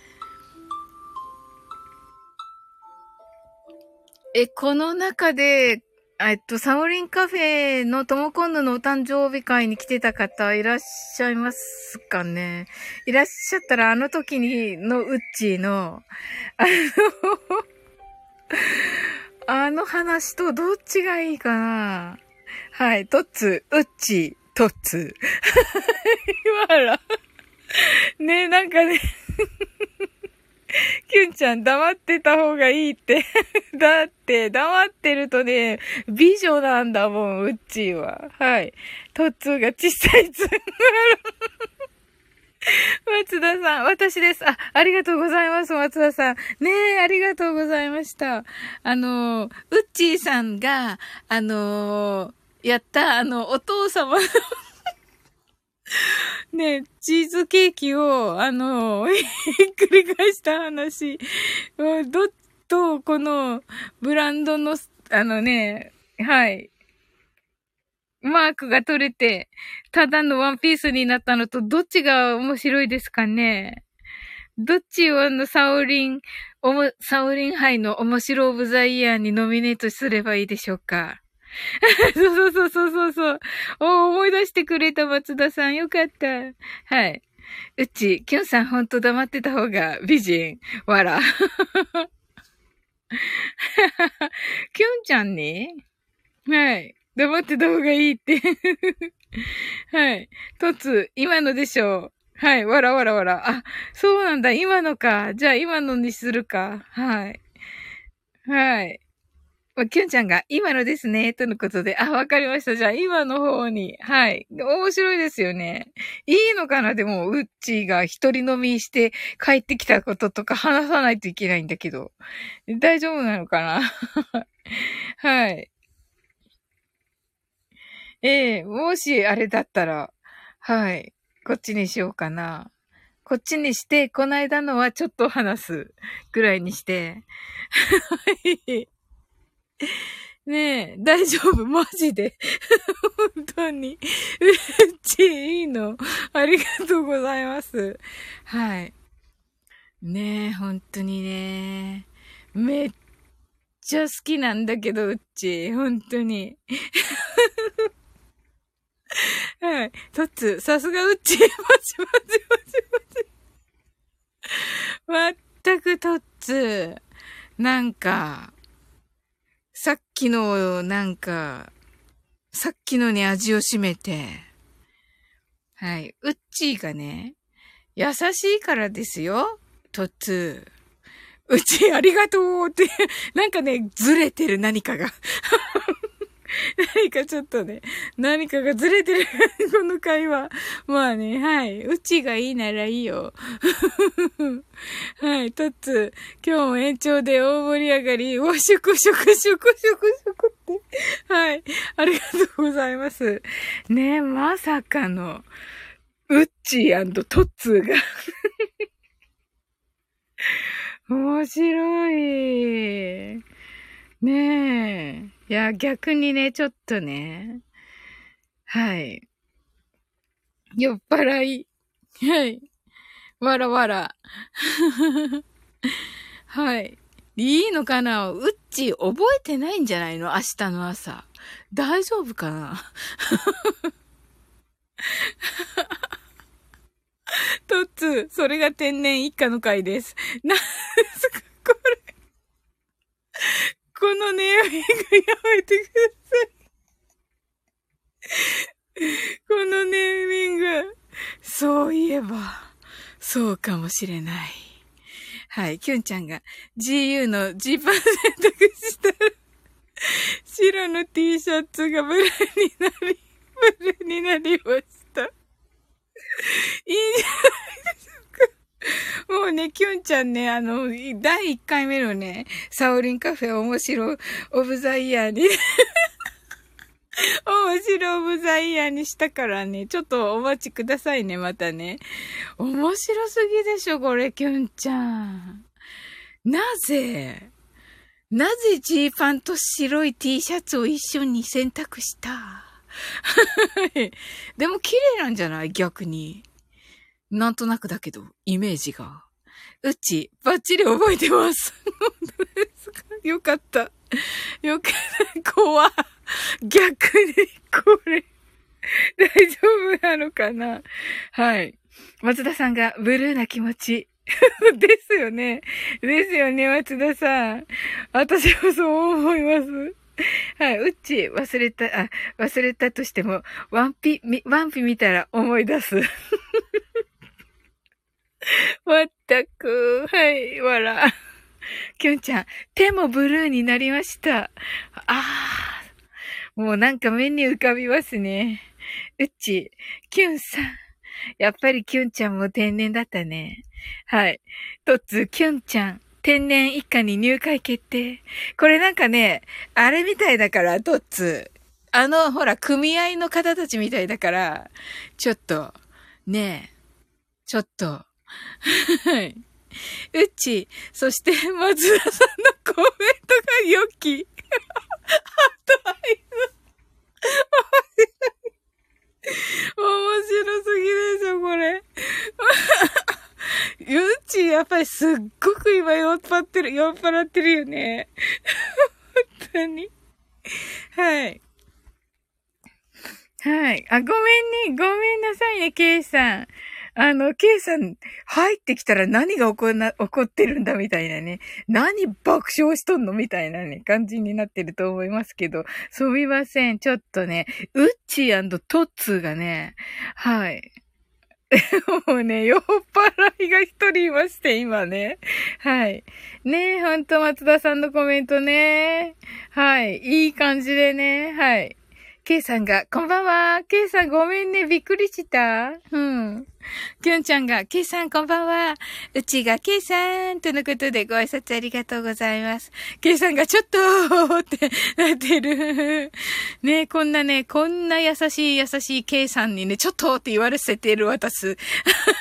え、この中で、えっと、サオリンカフェのともこんぬのお誕生日会に来てた方いらっしゃいますかね？いらっしゃったらあの時にのうっちーの、あの、あの話とどっちがいいかな？はい、トッツー、うっちー、トッツー。わら。ねえ、なんかね。キュンちゃん黙ってた方がいいって。だって黙ってるとね、美女なんだもん、うっちーは。はい。トッツーが小さいつ。松田さん、私です。あ、ありがとうございます、松田さん。ねえ、ありがとうございました。あの、うっちーさんが、あの、やった、あの、お父様のね、チーズケーキを、あの、ひっくり返した話。どっと、この、ブランドの、あのね、はい。マークが取れて、ただのワンピースになったのと、どっちが面白いですかね？どっちをあの、サオリン、おも、サオリン杯の面白オブザイヤーにノミネートすればいいでしょうか？そうそうそうそうそう。お、思い出してくれた松田さん。よかった。はい。うち、キュンさんほんと黙ってた方が美人。わら。 キュンちゃんね。はい。黙ってた方がいいって。はい。トツ、今のでしょう。はい。わらわらわら。あ、そうなんだ。今のか。じゃあ今のにするか。はい。はい。まキュンちゃんが今のですね。とのことで。あ、わかりました。じゃあ今の方に。はい。面白いですよね。いいのかなでも、ウッチーが一人飲みして帰ってきたこととか話さないといけないんだけど。大丈夫なのかなはい。ええ、もしあれだったら、はい。こっちにしようかな。こっちにして、この間のはちょっと話すぐらいにして。はい。ねえ、大丈夫マジで。本当に。うっち、いいの。ありがとうございます。はい。ねえ、本当にね。めっちゃ好きなんだけど、うっち。本当に。はい。トッツ、さすがうっち。マジマジマジマジ。全くトッツ。なんか、さっきの、なんか、さっきのに味を占めて、はい。うっちーがね、優しいからですよ。トッツー。うちありがとうって、なんかね、ずれてる何かが。何かちょっとね、何かがずれてる、この会話。まあね、はい。うちがいいならいいよ。はい、トッツー、今日も延長で大盛り上がり、お、しゅくしゅくしゅくしゅくしゅくって。はい、ありがとうございます。ねえ、まさかの、ウッチートッツーが面白い。ねえ。いや、逆にね、ちょっとね。はい。酔っ払い。はい。わらわら。はい。いいのかなうっち、覚えてないんじゃないの明日の朝。大丈夫かなトッツー、それが天然一家の回です。なんですかこれ。このネーミングやめてください。このネーミング。そういえば、そうかもしれない。はい、キュンちゃんが ジーユー のジーパン選択したら、白の T シャツがブルーになり、ブルーになりました。いいじゃないですか。もうね、キュンちゃんね、あの、だいいっかいめのね、サオリンカフェ面白オブザイヤーに、面白オブザイヤーにしたからね、ちょっとお待ちくださいね、またね。面白すぎでしょ、これ、キュンちゃん。なぜなぜジーパンと白い T シャツを一緒に選択したでも綺麗なんじゃない逆に。なんとなくだけど、イメージが。うち、バッチリ覚えてます。本当ですかよかった。よかった。怖逆に、これ、大丈夫なのかなはい。松田さんがブルーな気持ち。ですよね。ですよね、松田さん。私もそう思います。はい、うっち、忘れた、あ、忘れたとしても、ワンピ、ワンピ見たら思い出す。まったく、はい、わら。きゅんちゃん、手もブルーになりました。ああ、もうなんか目に浮かびますね。うっち、きゅんさん。やっぱりきゅんちゃんも天然だったね。はい。とっつ、きゅんちゃん。天然一家に入会決定。これなんかね、あれみたいだから、とっつ。あの、ほら、組合の方たちみたいだから、ちょっと、ねえ、ちょっと。はい。うち、そして、松田さんのコメントが良き。あと、あいつ、面白すぎでしょ、これ。ゆうち、やっぱりすっごく今酔っ払ってる、酔っ払ってるよね。本当に。はい。はい。あ、ごめんね。ごめんなさいね、ケイさん。 あの、ケイさん、入ってきたら何が起こな、起こってるんだみたいなね。何爆笑しとんのみたいなね、感じになってると思いますけど。すみません。ちょっとね、ウッチートッツーがね、はい。もうね、酔っ払いが一人いまして、今ね。はい。ねえ、ほんと松田さんのコメントね。はい。いい感じでね。はい。ケイさんが、こんばんは。ケイさんごめんね。びっくりした。うん。きゅんちゃんが、ケイさんこんばんは。うちがケイさんとのことでご挨拶ありがとうございます。ケイさんがちょっとってなってる。ねこんなね、こんな優しい優しいケイさんにね、ちょっとって言われせている私。ト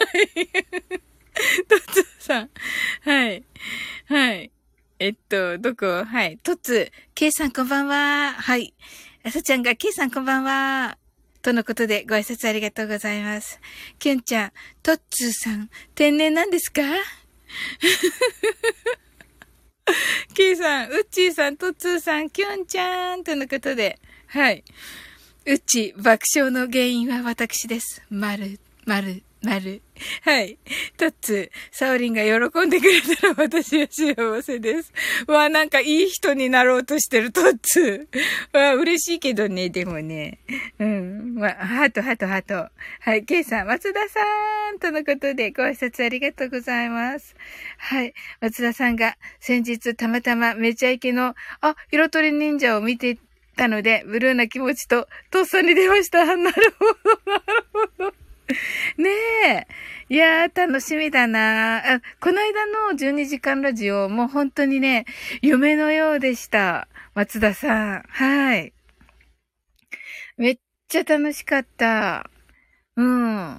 ツさん。はい。はい。えっと、どこはい。トツ、ケイさんこんばんは。はい。あさちゃんが、ケイさんこんばんは。とのことでご挨拶ありがとうございます。キュンちゃん、トッツーさん、天然なんですかケイさん、ウッチーさん、トッツーさん、キュンちゃんとのことで、はい。ウッチー、爆笑の原因は私です。まる、まる、まる。はい。トッツー、サオリンが喜んでくれたら私は幸せです。わあ、なんかいい人になろうとしてるトッツー。わあ、嬉しいけどね、でもね。うん。まあ、ハート、ハート、ハート。はい。ケイさん、松田さんとのことでご挨拶ありがとうございます。はい。松田さんが先日たまたまめちゃイケの、あ、色とり忍者を見てたので、ブルーな気持ちと、とっさに出ました。なるほど、なるほど。ねえ。いやー、楽しみだなあ。この間のじゅうにじかんラジオ、もう本当にね、夢のようでした。松田さん。はい。めっちゃ楽しかった。うん。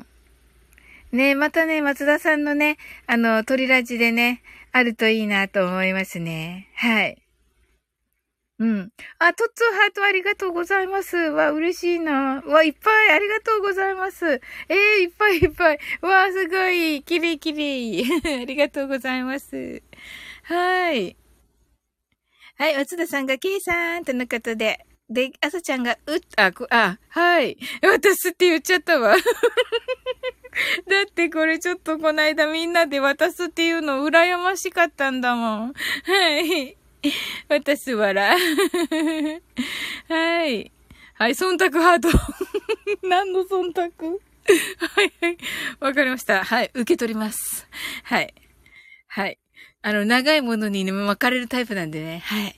ねえ、またね、松田さんのね、あの、鳥ラジでね、あるといいなと思いますね。はい。うん。あ、トッツーハートありがとうございます。わ、嬉しいな。わ、いっぱいありがとうございます。えー、いっぱいいっぱい。わ、すごい。きれいきれい。ありがとうございます。はい。はい、松田さんが、ケイさんとのことで。で、あさちゃんが、うっ、あ、こあ、はい。渡すって言っちゃったわ。だってこれちょっとこないだみんなで渡すっていうの羨ましかったんだもん。はい。私わら。はい。はい、忖度ハート。何の忖度はいはい。わかりました。はい、受け取ります。はい。はい。あの、長いものにね、巻かれるタイプなんでね。はい。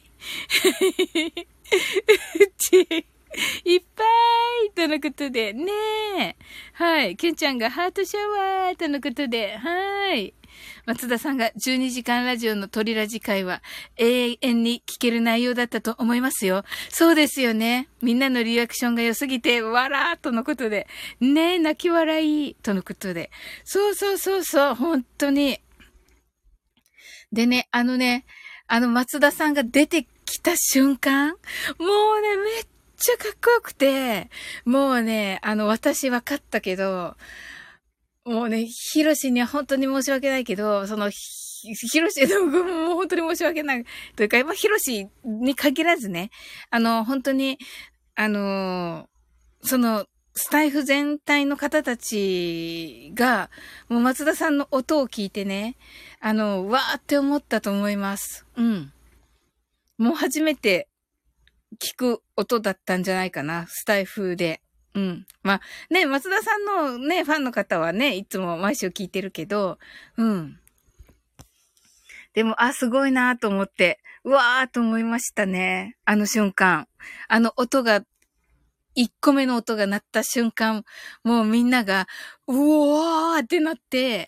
うち、いっぱいとのことで、ねえ。はい。ケンちゃんがハートシャワーとのことで、はい。松田さんがじゅうにじかんラジオの鳥ラジ会は永遠に聞ける内容だったと思いますよ。そうですよね。みんなのリアクションが良すぎて、わらーとのことで。ねえ、泣き笑いとのことで。そうそうそうそう、本当に。でね、あのね、あの松田さんが出てきた瞬間、もうね、めっちゃかっこよくて、もうね、あの、私分かったけど、もうね、ヒロシには本当に申し訳ないけど、その、ヒロシ、もう本当に申し訳ない。というか、まあ、ヒロシに限らずね、あの、本当に、あの、その、スタイフ全体の方たちが、もう松田さんの音を聞いてね、あの、わーって思ったと思います。うん。もう初めて聞く音だったんじゃないかな、スタイフで。うん。まあ、ね、松田さんのね、ファンの方はね、いつも毎週聞いてるけど、うん。でも、あ、すごいなと思って、うわーと思いましたね。あの瞬間。あの音が、一個目の音が鳴った瞬間、もうみんなが、うおーってなって、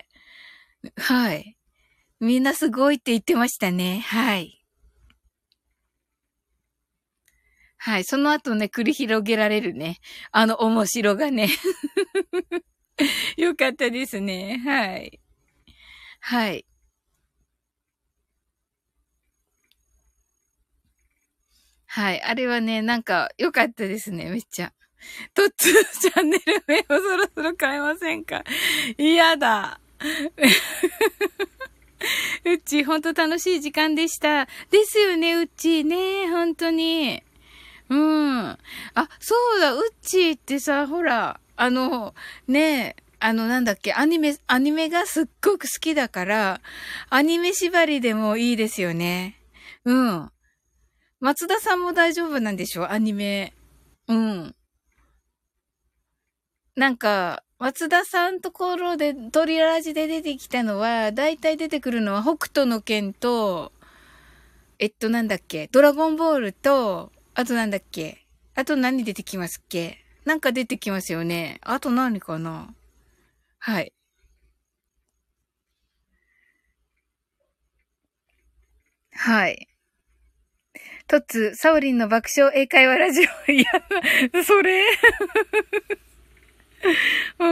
はい。みんなすごいって言ってましたね。はい。はい。その後ね、繰り広げられるね。あの面白がね。よかったですね。はい。はい。はい。あれはね、なんか、良かったですね。めっちゃ。トッツーチャンネル名をそろそろ変えませんか？嫌だ。うっち、ほんと楽しい時間でした。ですよね、うっち。ね、ほんとに。うん。あ、そうだ、うっちーってさ、ほら、あの、ねあの、なんだっけ、アニメ、アニメがすっごく好きだから、アニメ縛りでもいいですよね。うん。松田さんも大丈夫なんでしょアニメ。うん。なんか、松田さんところで、トリラジで出てきたのは、だいたい出てくるのは北斗の拳と、えっとなんだっけ、ドラゴンボールと、あとなんだっけ、あと何出てきますっけ、なんか出てきますよね。あと何かな。はい。はい。トッツ、サオリンの爆笑英会話ラジオ。いや、それうん。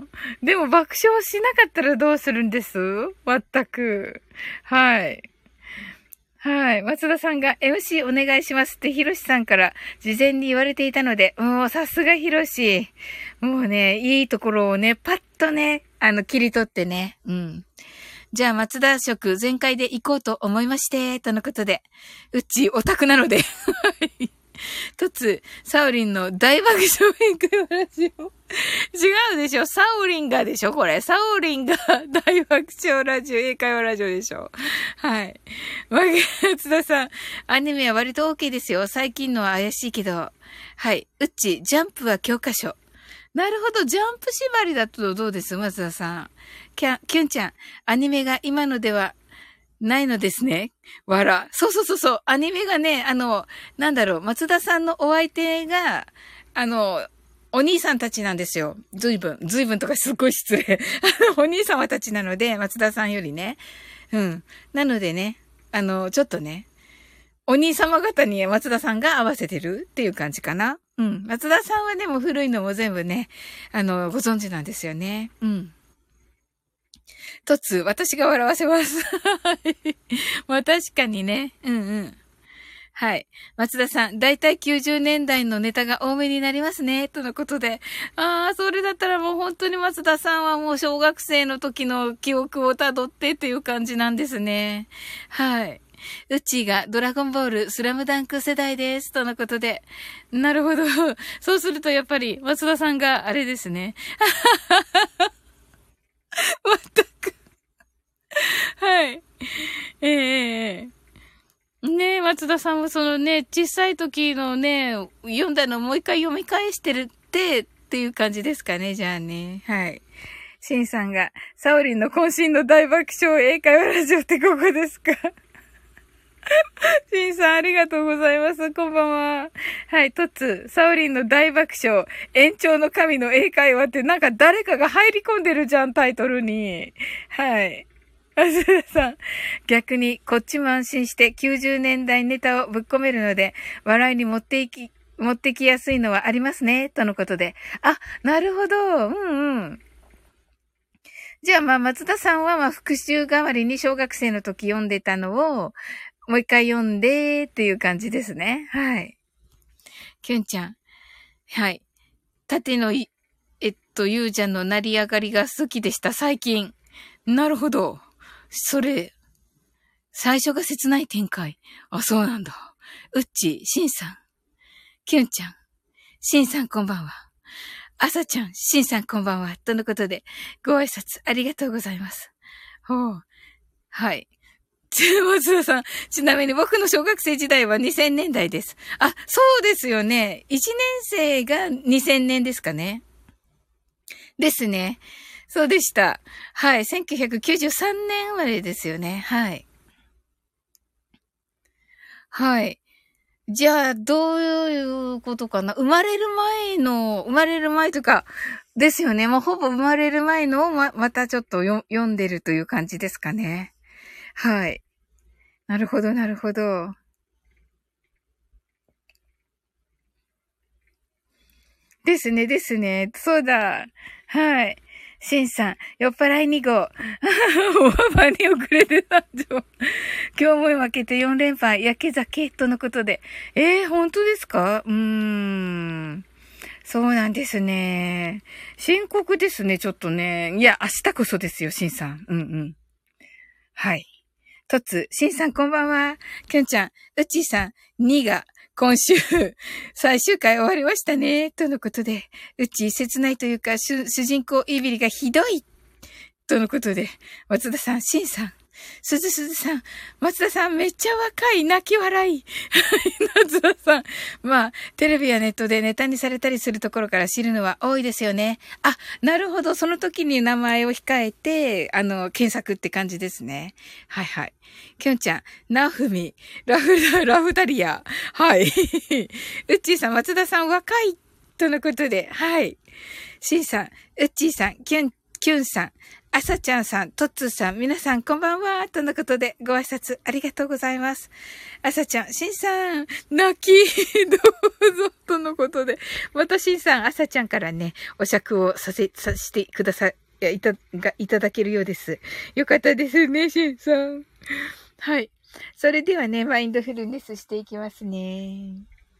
でも爆笑しなかったらどうするんです？全く。はい。はい。松田さんが エムシー お願いしますってヒロシさんから事前に言われていたので、もうさすがヒロシ。もうね、いいところをね、パッとね、あの、切り取ってね。うん。じゃあ、松田食全開で行こうと思いまして、とのことで。うち、オタクなので。はい。とつ、サオリンの大爆笑英会話ラジオ。違うでしょ、サオリンがでしょこれ。サオリンが大爆笑ラジオ、英会話ラジオでしょ。はい。松田さん、アニメは割と OK ですよ。最近のは怪しいけど。はい。うっち、ジャンプは教科書。なるほど。ジャンプ縛りだとどうです松田さん。キャン、キュンちゃん。アニメが今のではないのですね。わら。そうそうそうそう。アニメがね、あの、なんだろう。松田さんのお相手が、あの、お兄さんたちなんですよ。ずいぶん。ずいぶんとかすっごい失礼。あの、お兄様たちなので、松田さんよりね。うん。なのでね、あの、ちょっとね、お兄様方に松田さんが合わせてるっていう感じかな。うん。松田さんはでも古いのも全部ね、あの、ご存知なんですよね。うん。とつ、私が笑わせます。はい。まあ確かにね。うんうん。はい。松田さん、だいたいきゅうじゅうねんだいのネタが多めになりますね。とのことで。ああ、それだったらもう本当に松田さんはもう小学生の時の記憶をたどってっていう感じなんですね。はい。うちがドラゴンボール、スラムダンク世代です。とのことで。なるほど。そうするとやっぱり松田さんがあれですね。全く。はい。ええええ。ねえ、松田さんもそのね、小さい時のね、読んだのをもう一回読み返してるって、っていう感じですかね、じゃあね。はい。シンさんが、サオリンの渾身の大爆笑英会話ラジオってここですか？シンさんありがとうございます。こんばんは。はい、トツ、サオリンの大爆笑、延長の神の英会話ってなんか誰かが入り込んでるじゃん、タイトルに。はい。あずらさん。逆に、こっちも安心してきゅうじゅうねんだいネタをぶっ込めるので、笑いに持っていき、持ってきやすいのはありますね、とのことで。あ、なるほど。うんうん。じゃあまあ、松田さんはまあ、復習代わりに小学生の時読んでたのを、もう一回読んでっていう感じですね。はい。きゅんちゃん。はい。縦のい、えっと、ゆうちゃんの成り上がりが好きでした、最近。なるほど。それ、最初が切ない展開。あ、そうなんだ。うっち、しんさん、きゅんちゃん、しんさんこんばんは。あさちゃん、しんさんこんばんは。とのことで、ご挨拶ありがとうございます。ほう。はい。松田さん、ちなみに僕の小学生時代はにせんねんだいです。あ、そうですよね。いちねん生がにせんねんですかね。ですね。そうでした。はい。せんきゅうひゃくきゅうじゅうさんねん生まれですよね。はい。はい。じゃあ、どういうことかな。生まれる前の、生まれる前とか、ですよね。もうほぼ生まれる前のをま、またちょっとよ読んでるという感じですかね。はい。なるほど、なるほど。ですね、ですね。そうだ。はい。シンさん、酔っ払いに号。おばばに遅れて参上。今日も負けてよん連敗、焼け酒とのことで。えー、本当ですか？うーん。そうなんですね。深刻ですね、ちょっとね。いや、明日こそですよ、シンさん。うんうん。はい。とつ、しんさんこんばんは。きゅんちゃん、うっちーさん、にが今週、最終回終わりましたね。とのことで、うち切ないというか、主人公イビリがひどい。とのことで、松田さん、シンさん、すずすずさん、松田さんめっちゃ若い、泣き笑い。松田さん。まあ、テレビやネットでネタにされたりするところから知るのは多いですよね。あ、なるほど。その時に名前を控えて、あの、検索って感じですね。はいはい。きょんちゃん、なふみ、ラフダ、ラフダリア。はい。うっちーさん、松田さん若い。とのことで、はい。しんさん、うっちーさん、きゅん、きゅんさん、あさちゃんさん、とっつーさん、皆さんこんばんは、とのことでご挨拶ありがとうございます。あさちゃん、しんさん、泣き、どうぞ、とのことで、またしんさん、あさちゃんからね、お酌をさせ、させてください、いや、いた、が、いただけるようです。よかったですね、しんさん。はい。それではね、マインドフルネスしていきますね。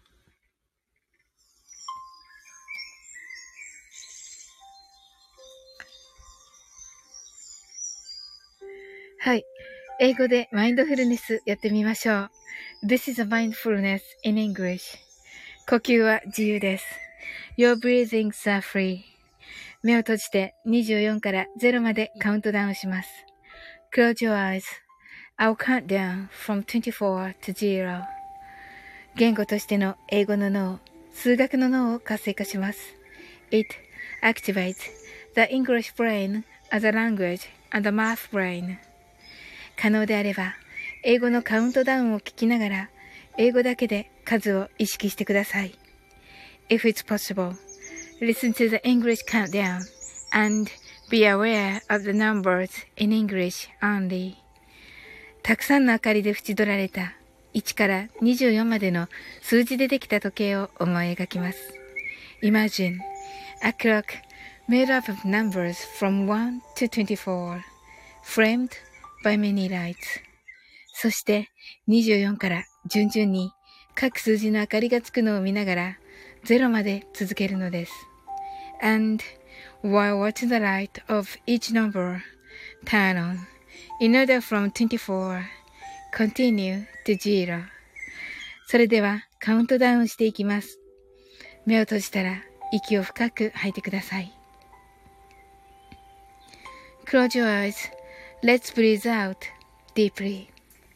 はい。英語でマインドフルネスやってみましょう。This is a mindfulness in English. 呼吸は自由です。Your breathings are free. 目を閉じてにじゅうよんからゼロまでカウントダウンします。Close your eyes. I'll count down from twenty-four to zero. 言語としての英語の脳、数学の脳を活性化します。It activates the English brain as a language and the math brain.可能であれば、英語のカウントダウンを聞きながら、英語だけで数を意識してください。If it's possible, listen to the English countdown and be aware of the numbers in English only. たくさんの明かりで縁取られたいちからにじゅうよんまでの数字でできた時計を思い描きます。Imagine a clock made up of numbers from one to twenty-four, framed by many lights. そしてにじゅうよんから順々に各数字の明かりがつくのを見ながらゼロまで続けるのです。And while watching the light of each number turn on, in order from twenty-four, continue to zero. それではカウントダウンしていきます。目を閉じたら息を深く吐いてください。Close your eyes.Let's breathe out deeply.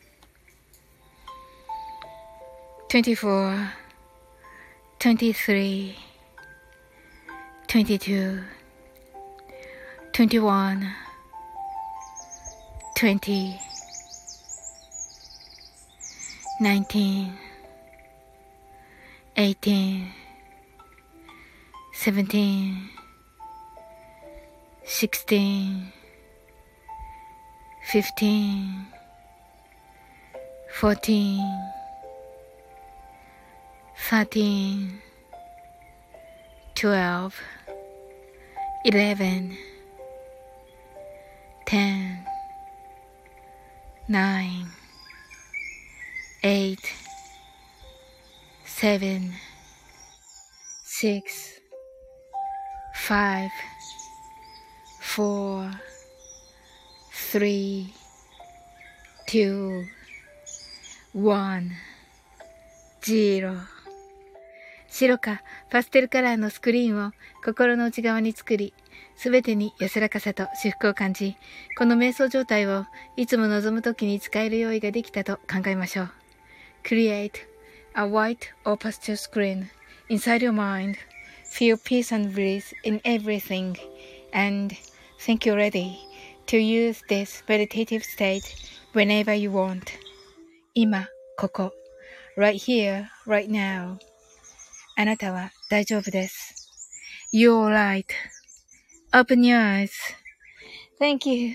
twenty-four, twenty-three, twenty-two, twenty-one, twenty, nineteen, eighteen, seventeen, sixteen,Fifteen, fourteen, thirteen, twelve, eleven, ten, nine, eight, seven, six, five, four,Three, two, one, zero. 白かパステルカラーのスクリーンを心の内側に作り、すべてに安らかさと至福を感じ、この瞑想状態をいつも望むときに使える用意ができたと考えましょう。Create a white or pastel screen inside your mind. Feel peace and bliss in everything. And think you're ready.To use this meditative state whenever you want. 今、ここ。right here, right now. あなたは大丈夫です。You're right. Open your eyes. Thank you.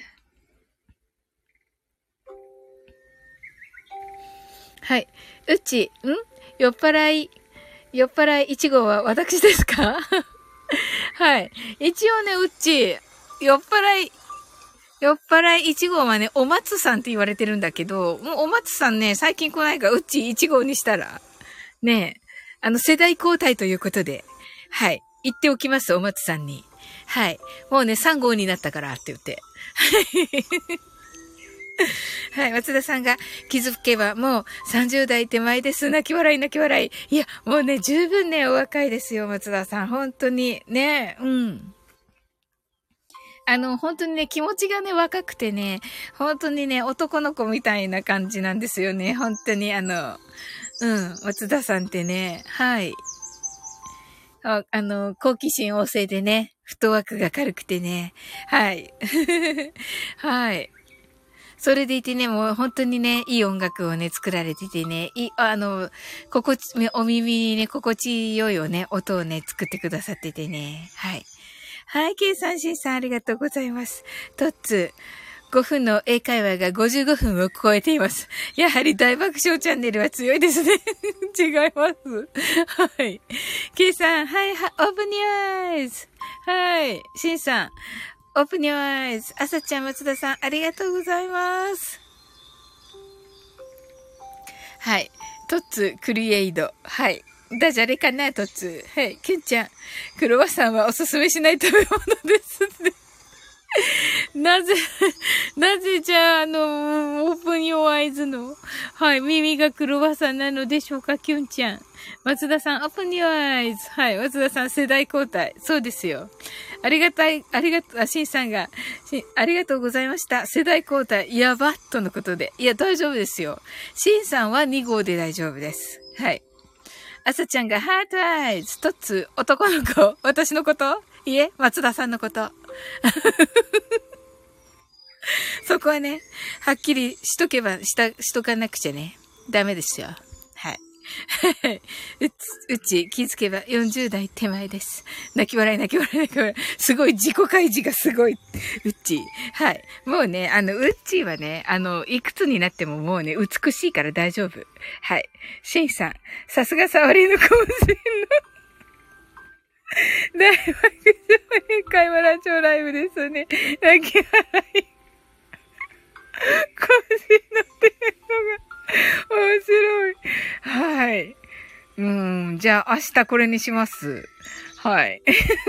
はい。うち、ん酔っ払い、酔っ払いいち号は私ですかはい。一応ね、うち、酔っ払い、酔っ払いいち号はね、お松さんって言われてるんだけど、もうお松さんね、最近来ないから、うちいち号にしたら、ねえ、あの、世代交代ということで、はい、言っておきます、お松さんに。はい。もうね、さん号になったからって言って。 はい、松田さんが気づけばもうさんじゅう代手前です。泣き笑い泣き笑い。いや、もうね、十分ね、お若いですよ、松田さん。本当に。ね、うん。あの、本当にね、気持ちがね、若くてね、本当にね、男の子みたいな感じなんですよね。本当に、あの、うん、松田さんってね、はい。あ、あの、好奇心旺盛でね、フットワークが軽くてね、はい。はい。それでいてね、もう本当にね、いい音楽をね、作られててね、いい、あの、心地、お耳にね、心地よいをね、音をね、作ってくださっててね、はい。はい、ケイさん、シンさん、ありがとうございます。トッツー、ごふんの英会話がごじゅうごふんを超えています。やはり大爆笑チャンネルは強いですね。違います。はい。ケイさん、はい、は、オープニューアイズ。はい。シンさん、オープニューアイズ。あさちゃん、松田さん、ありがとうございます。はい。トッツ、クリエイド。はい。ダジャレかな、トッツ。はい。キュンちゃん、クロワッサンはおすすめしない食べ物ですね。なぜ、なぜじゃあ、あの、オープンヨーアイズの、はい、耳がクロワッサンなのでしょうか、キュンちゃん。松田さん、オープンヨーアイズ。はい、松田さん、世代交代。そうですよ。ありがたい、ありがとう、あ、シンさんが、しありがとうございました。世代交代、やばっとのことで。いや、大丈夫ですよ。シンさんはに号で大丈夫です。はい。あさちゃんが、ハートアイズ、トッツ、男の子、私のこといえ、松田さんのこと。そこはね、はっきりしとけば、した、しとかなくちゃね。ダメですよ。はい。うち、うち、気づけばよんじゅう代手前です。泣き笑い泣き笑い泣き笑い。すごい、自己開示がすごい。うっち。はい。もうね、あの、うっちはね、あの、いくつになってももうね、美しいから大丈夫。はい。シンさん、さすがサワリのかもしれんの。大爆笑英会話ラジオライブですね。泣き笑い。腰のってるのが面白い。はい。うん、じゃあ明日これにします。はい。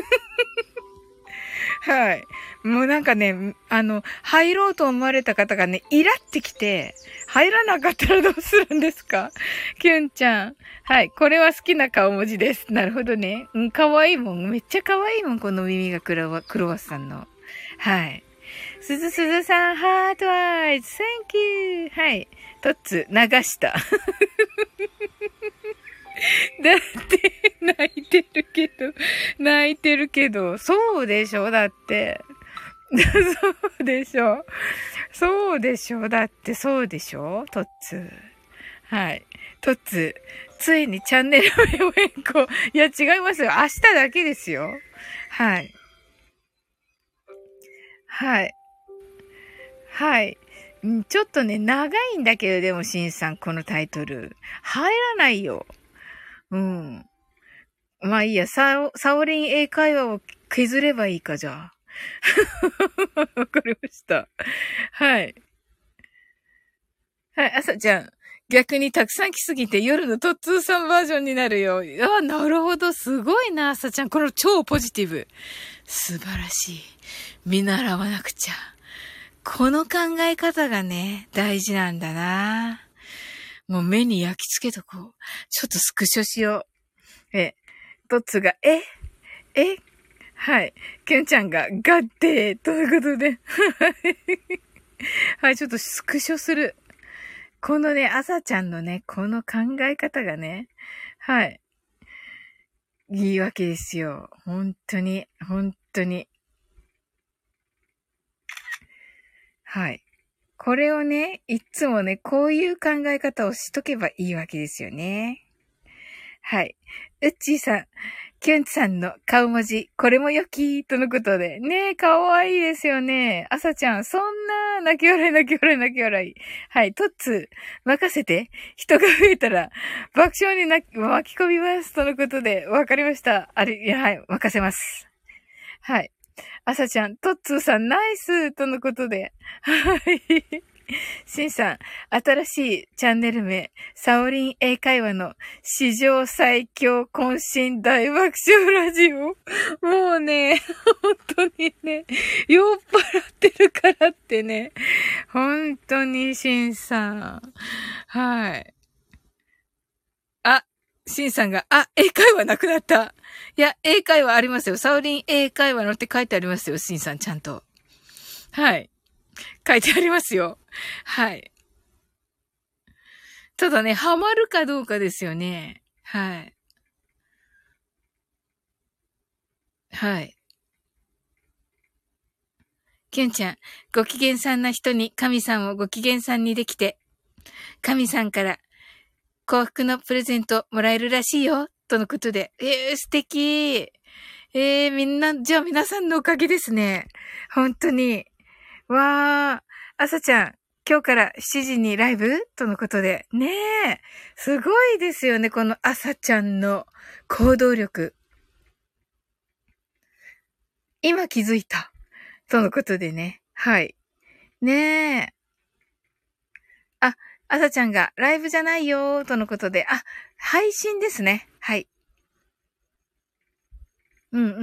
はい。もうなんかね、あの、入ろうと思われた方がね、イラってきて、入らなかったらどうするんですか？キュンちゃん。はい。これは好きな顔文字です。なるほどね。うん、かわいいもん。めっちゃかわいいもん。この耳がクロワ、クロワッサンの。はい。すずすずさん、ハートアイズ、Thank you! はい。トッツ、流した。だって、泣いてるけど、泣いてるけど、そうでしょだって。そうでしょそうでしょだってそうでしょトッツ。はい。トッツ、ついにチャンネル名を変更。いや、違いますよ。明日だけですよ。はい。はい。はい。ちょっとね、長いんだけど、でも、しんさん、このタイトル。入らないよ。うん。まあいいや、サオ、サオリン英会話を削ればいいか、じゃあ。わかりました。はい。はい、朝ちゃん。逆にたくさん来すぎて夜のトッツーさんバージョンになるよ。あ、なるほど。すごいな、朝ちゃん。この超ポジティブ。素晴らしい。見習わなくちゃ。この考え方がね、大事なんだな。もう目に焼き付けとこう。ちょっとスクショしよう。え、トッツが、ええはい。ケンちゃんが、ガッテーということで。はい、ちょっとスクショする。このね、朝ちゃんのね、この考え方がね、はい。いいわけですよ。本当に、本当に。はい。これをね、いつもね、こういう考え方をしとけばいいわけですよね。はい。うっちーさん、キュンさんの顔文字、これも良きとのことで。ねえ、かわいいですよね。あさちゃん、そんな、泣き笑い泣き笑い泣き笑い。はい、トッツー、任せて。人が増えたら、爆笑にな巻き込みます。とのことで、わかりました。あれ、いや、はい、任せます。はい。あさちゃん、トッツーさん、ナイスとのことで。はい。 しんさん、新しいチャンネル名、サオリン英会話の史上最強渾身大爆笑ラジオ。もうね、本当にね、酔っ払ってるからってね、本当にしんさん。はい。あ、しんさんが、あ、英会話なくなった。いや、英会話ありますよ。サオリン英会話のって書いてありますよ、しんさん、ちゃんと。はい。書いてありますよ。はい。ただね、ハマるかどうかですよね。はい。はい。キュンちゃん、ご機嫌さんな人に神さんをご機嫌さんにできて、神さんから幸福のプレゼントもらえるらしいよ、とのことで。えー、素敵。えー、みんな、じゃあ皆さんのおかげですね。本当に。わー、朝ちゃん、今日からしちじにライブとのことで。ねえ、すごいですよね、この朝ちゃんの行動力。今気づいた。とのことでね。はい。ねえ。あ、朝ちゃんがライブじゃないよーとのことで。あ、配信ですね。はい。うんうん。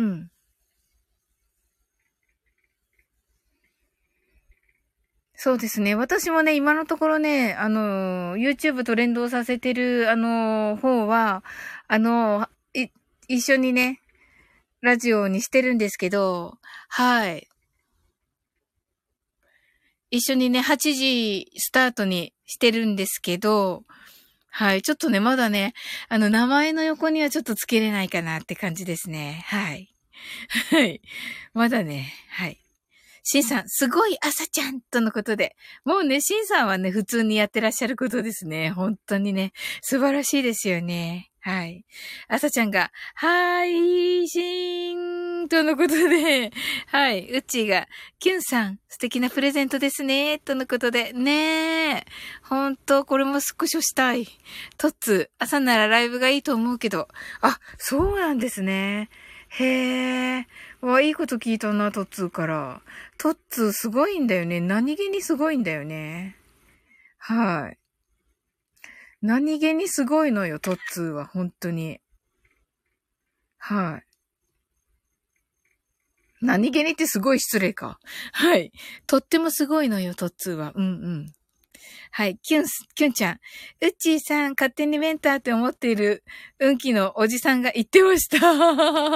そうですね。私もね、今のところね、あの、YouTube と連動させてる、あの、方は、あの、い、一緒にね、ラジオにしてるんですけど、はい。一緒にね、はちじスタートにしてるんですけど、はい。ちょっとね、まだね、あの、名前の横にはちょっとつけれないかなって感じですね。はい。はい。まだね、はい。シンさん、すごい朝ちゃんとのことで。もうね、シンさんはね、普通にやってらっしゃることですね。本当にね、素晴らしいですよね。はい。朝ちゃんが、配信とのことで、はい。うっちーが、キュンさん、素敵なプレゼントですね。とのことで、ねえ。本当これもスクショしたい。トッツー、朝ならライブがいいと思うけど。あ、そうなんですね。へえ。わ、いいこと聞いたな、トッツーから。トッツーすごいんだよね。何気にすごいんだよね。はい。何気にすごいのよ、トッツーは、本当に。はい。何気にってすごい失礼か。はい。とってもすごいのよ、トッツーは。うんうん。はい。キュンス、キュンちゃん。うっちーさん、勝手にメンターって思っている、運気のおじさんが言ってました。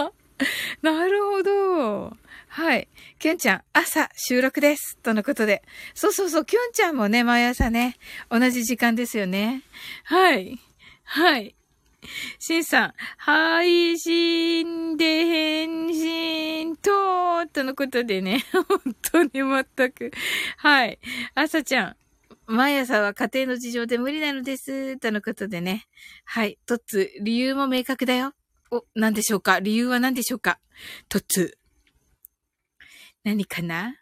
なるほど。はい。キュンちゃん、朝収録です。とのことで。そうそうそう、キュンちゃんもね、毎朝ね、同じ時間ですよね。はい。はい。シンさん、配信で返信と、とのことでね、本当に全く。はい。朝ちゃん、毎朝は家庭の事情で無理なのです。とのことでね。はい。とっつ、理由も明確だよ。お、何でしょうか？理由は何でしょうか？とつ。何か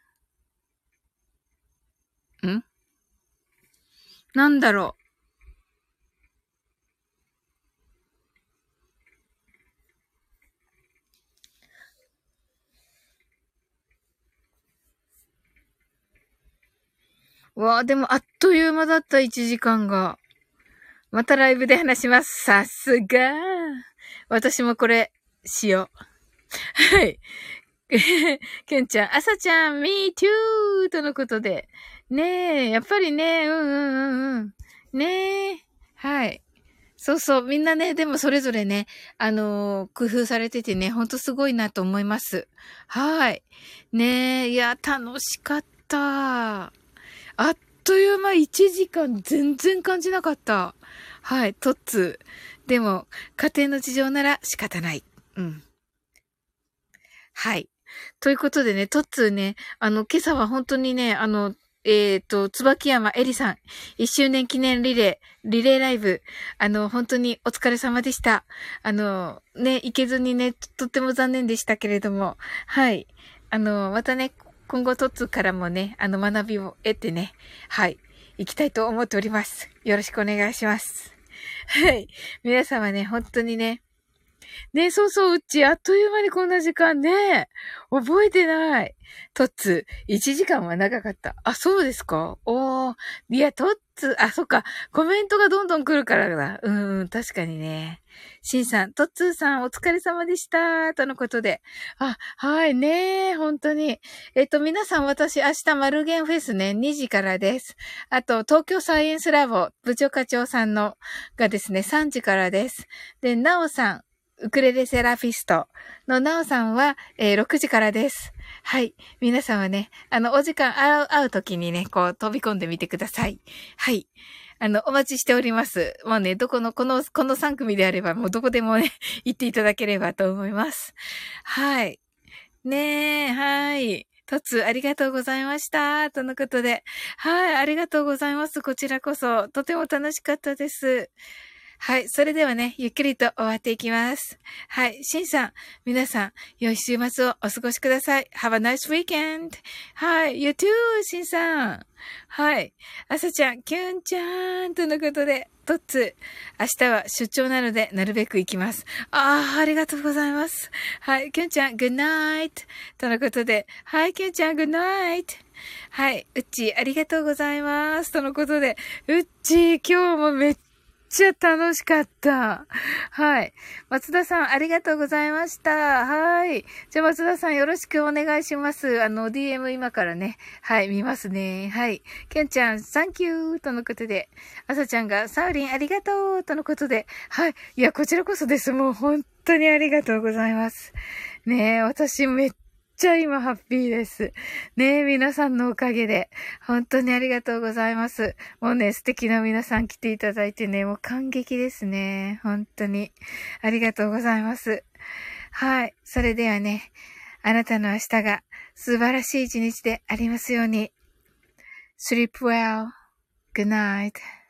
なんなんだろう。わあ、でもあっという間だったいちじかんが。またライブで話します。さすが。私もこれ、しよう。はい。けんちゃん、朝ちゃん、me too! とのことで。ねえ、やっぱりね、うんうんうんうん。ねえ。はい。そうそう、みんなね、でもそれぞれね、あのー工夫されててね、ほんとすごいなと思います。はい。ねえ、いや、楽しかった。あっという間いちじかん全然感じなかった。はい、トッツー。でも、家庭の事情なら仕方ない。うん。はい。ということでね、トッツーね、あの、今朝は本当にね、あの、えっ、と、椿山えりさん、いっしゅうねん記念リレー、リレーライブ、あの、本当にお疲れ様でした。あの、ね、行けずにね、とっても残念でしたけれども、はい。あの、またね、今後トッツーからもね、あの、学びを得てね、はい、行きたいと思っております。よろしくお願いします。はい。皆様ね、本当にね、 ね、そうそう、うち、あっという間にこんな時間ね。覚えてない。トッツ、いちじかんは長かった。あ、そうですか？おー。いや、トッツ、あ、そっか。コメントがどんどん来るからだ。うんうん、確かにね。シンさん、トッツーさん、お疲れ様でした。とのことで。あ、はいね。本当に。えっと、皆さん、私、明日、マルゲンフェスね、にじからです。あと、東京サイエンスラボ、部長課長さんの、がですね、さんじからです。で、なおさん、ウクレレセラピストのなおさんは、えー、ろくじからです。はい。皆さんはね、あの、お時間会う、会う時にね、こう、飛び込んでみてください。はい。あの、お待ちしております。もうね、どこの、この、このさん組であれば、もうどこでもね、行っていただければと思います。はい。ねえ、はい。とつ、ありがとうございました。とのことで。はい、ありがとうございます。こちらこそ、とても楽しかったです。はい。それではね、ゆっくりと終わっていきます。はい。しんさん、皆さん、良い週末をお過ごしください。Have a nice weekend. はい。You too, しんさん。はい。あさちゃん、きゅんちゃん、とのことで、とっつ、明日は出張なので、なるべく行きます。ああ、ありがとうございます。はい。きゅんちゃん、good night. とのことで、はい、きゅんちゃん、good night. はい。うっちー、ありがとうございます。とのことで、うっちー、今日もめっめっちゃ楽しかった。はい。松田さん、ありがとうございました。はい。じゃあ、松田さん、よろしくお願いします。あの、ディーエム 今からね、はい、見ますね。はい。ケンちゃん、サンキューとのことで、あさちゃんが、サウリン、ありがとうとのことで、はい。いや、こちらこそです。もう、本当にありがとうございます。ねえ、私、めっちゃ今ハッピーです。ねえ、皆さんのおかげで。本当にありがとうございます。もうね、素敵な皆さん来ていただいてね、もう感激ですね。本当に。ありがとうございます。はい。それではね、あなたの明日が素晴らしい一日でありますように。Sleep well. Good night.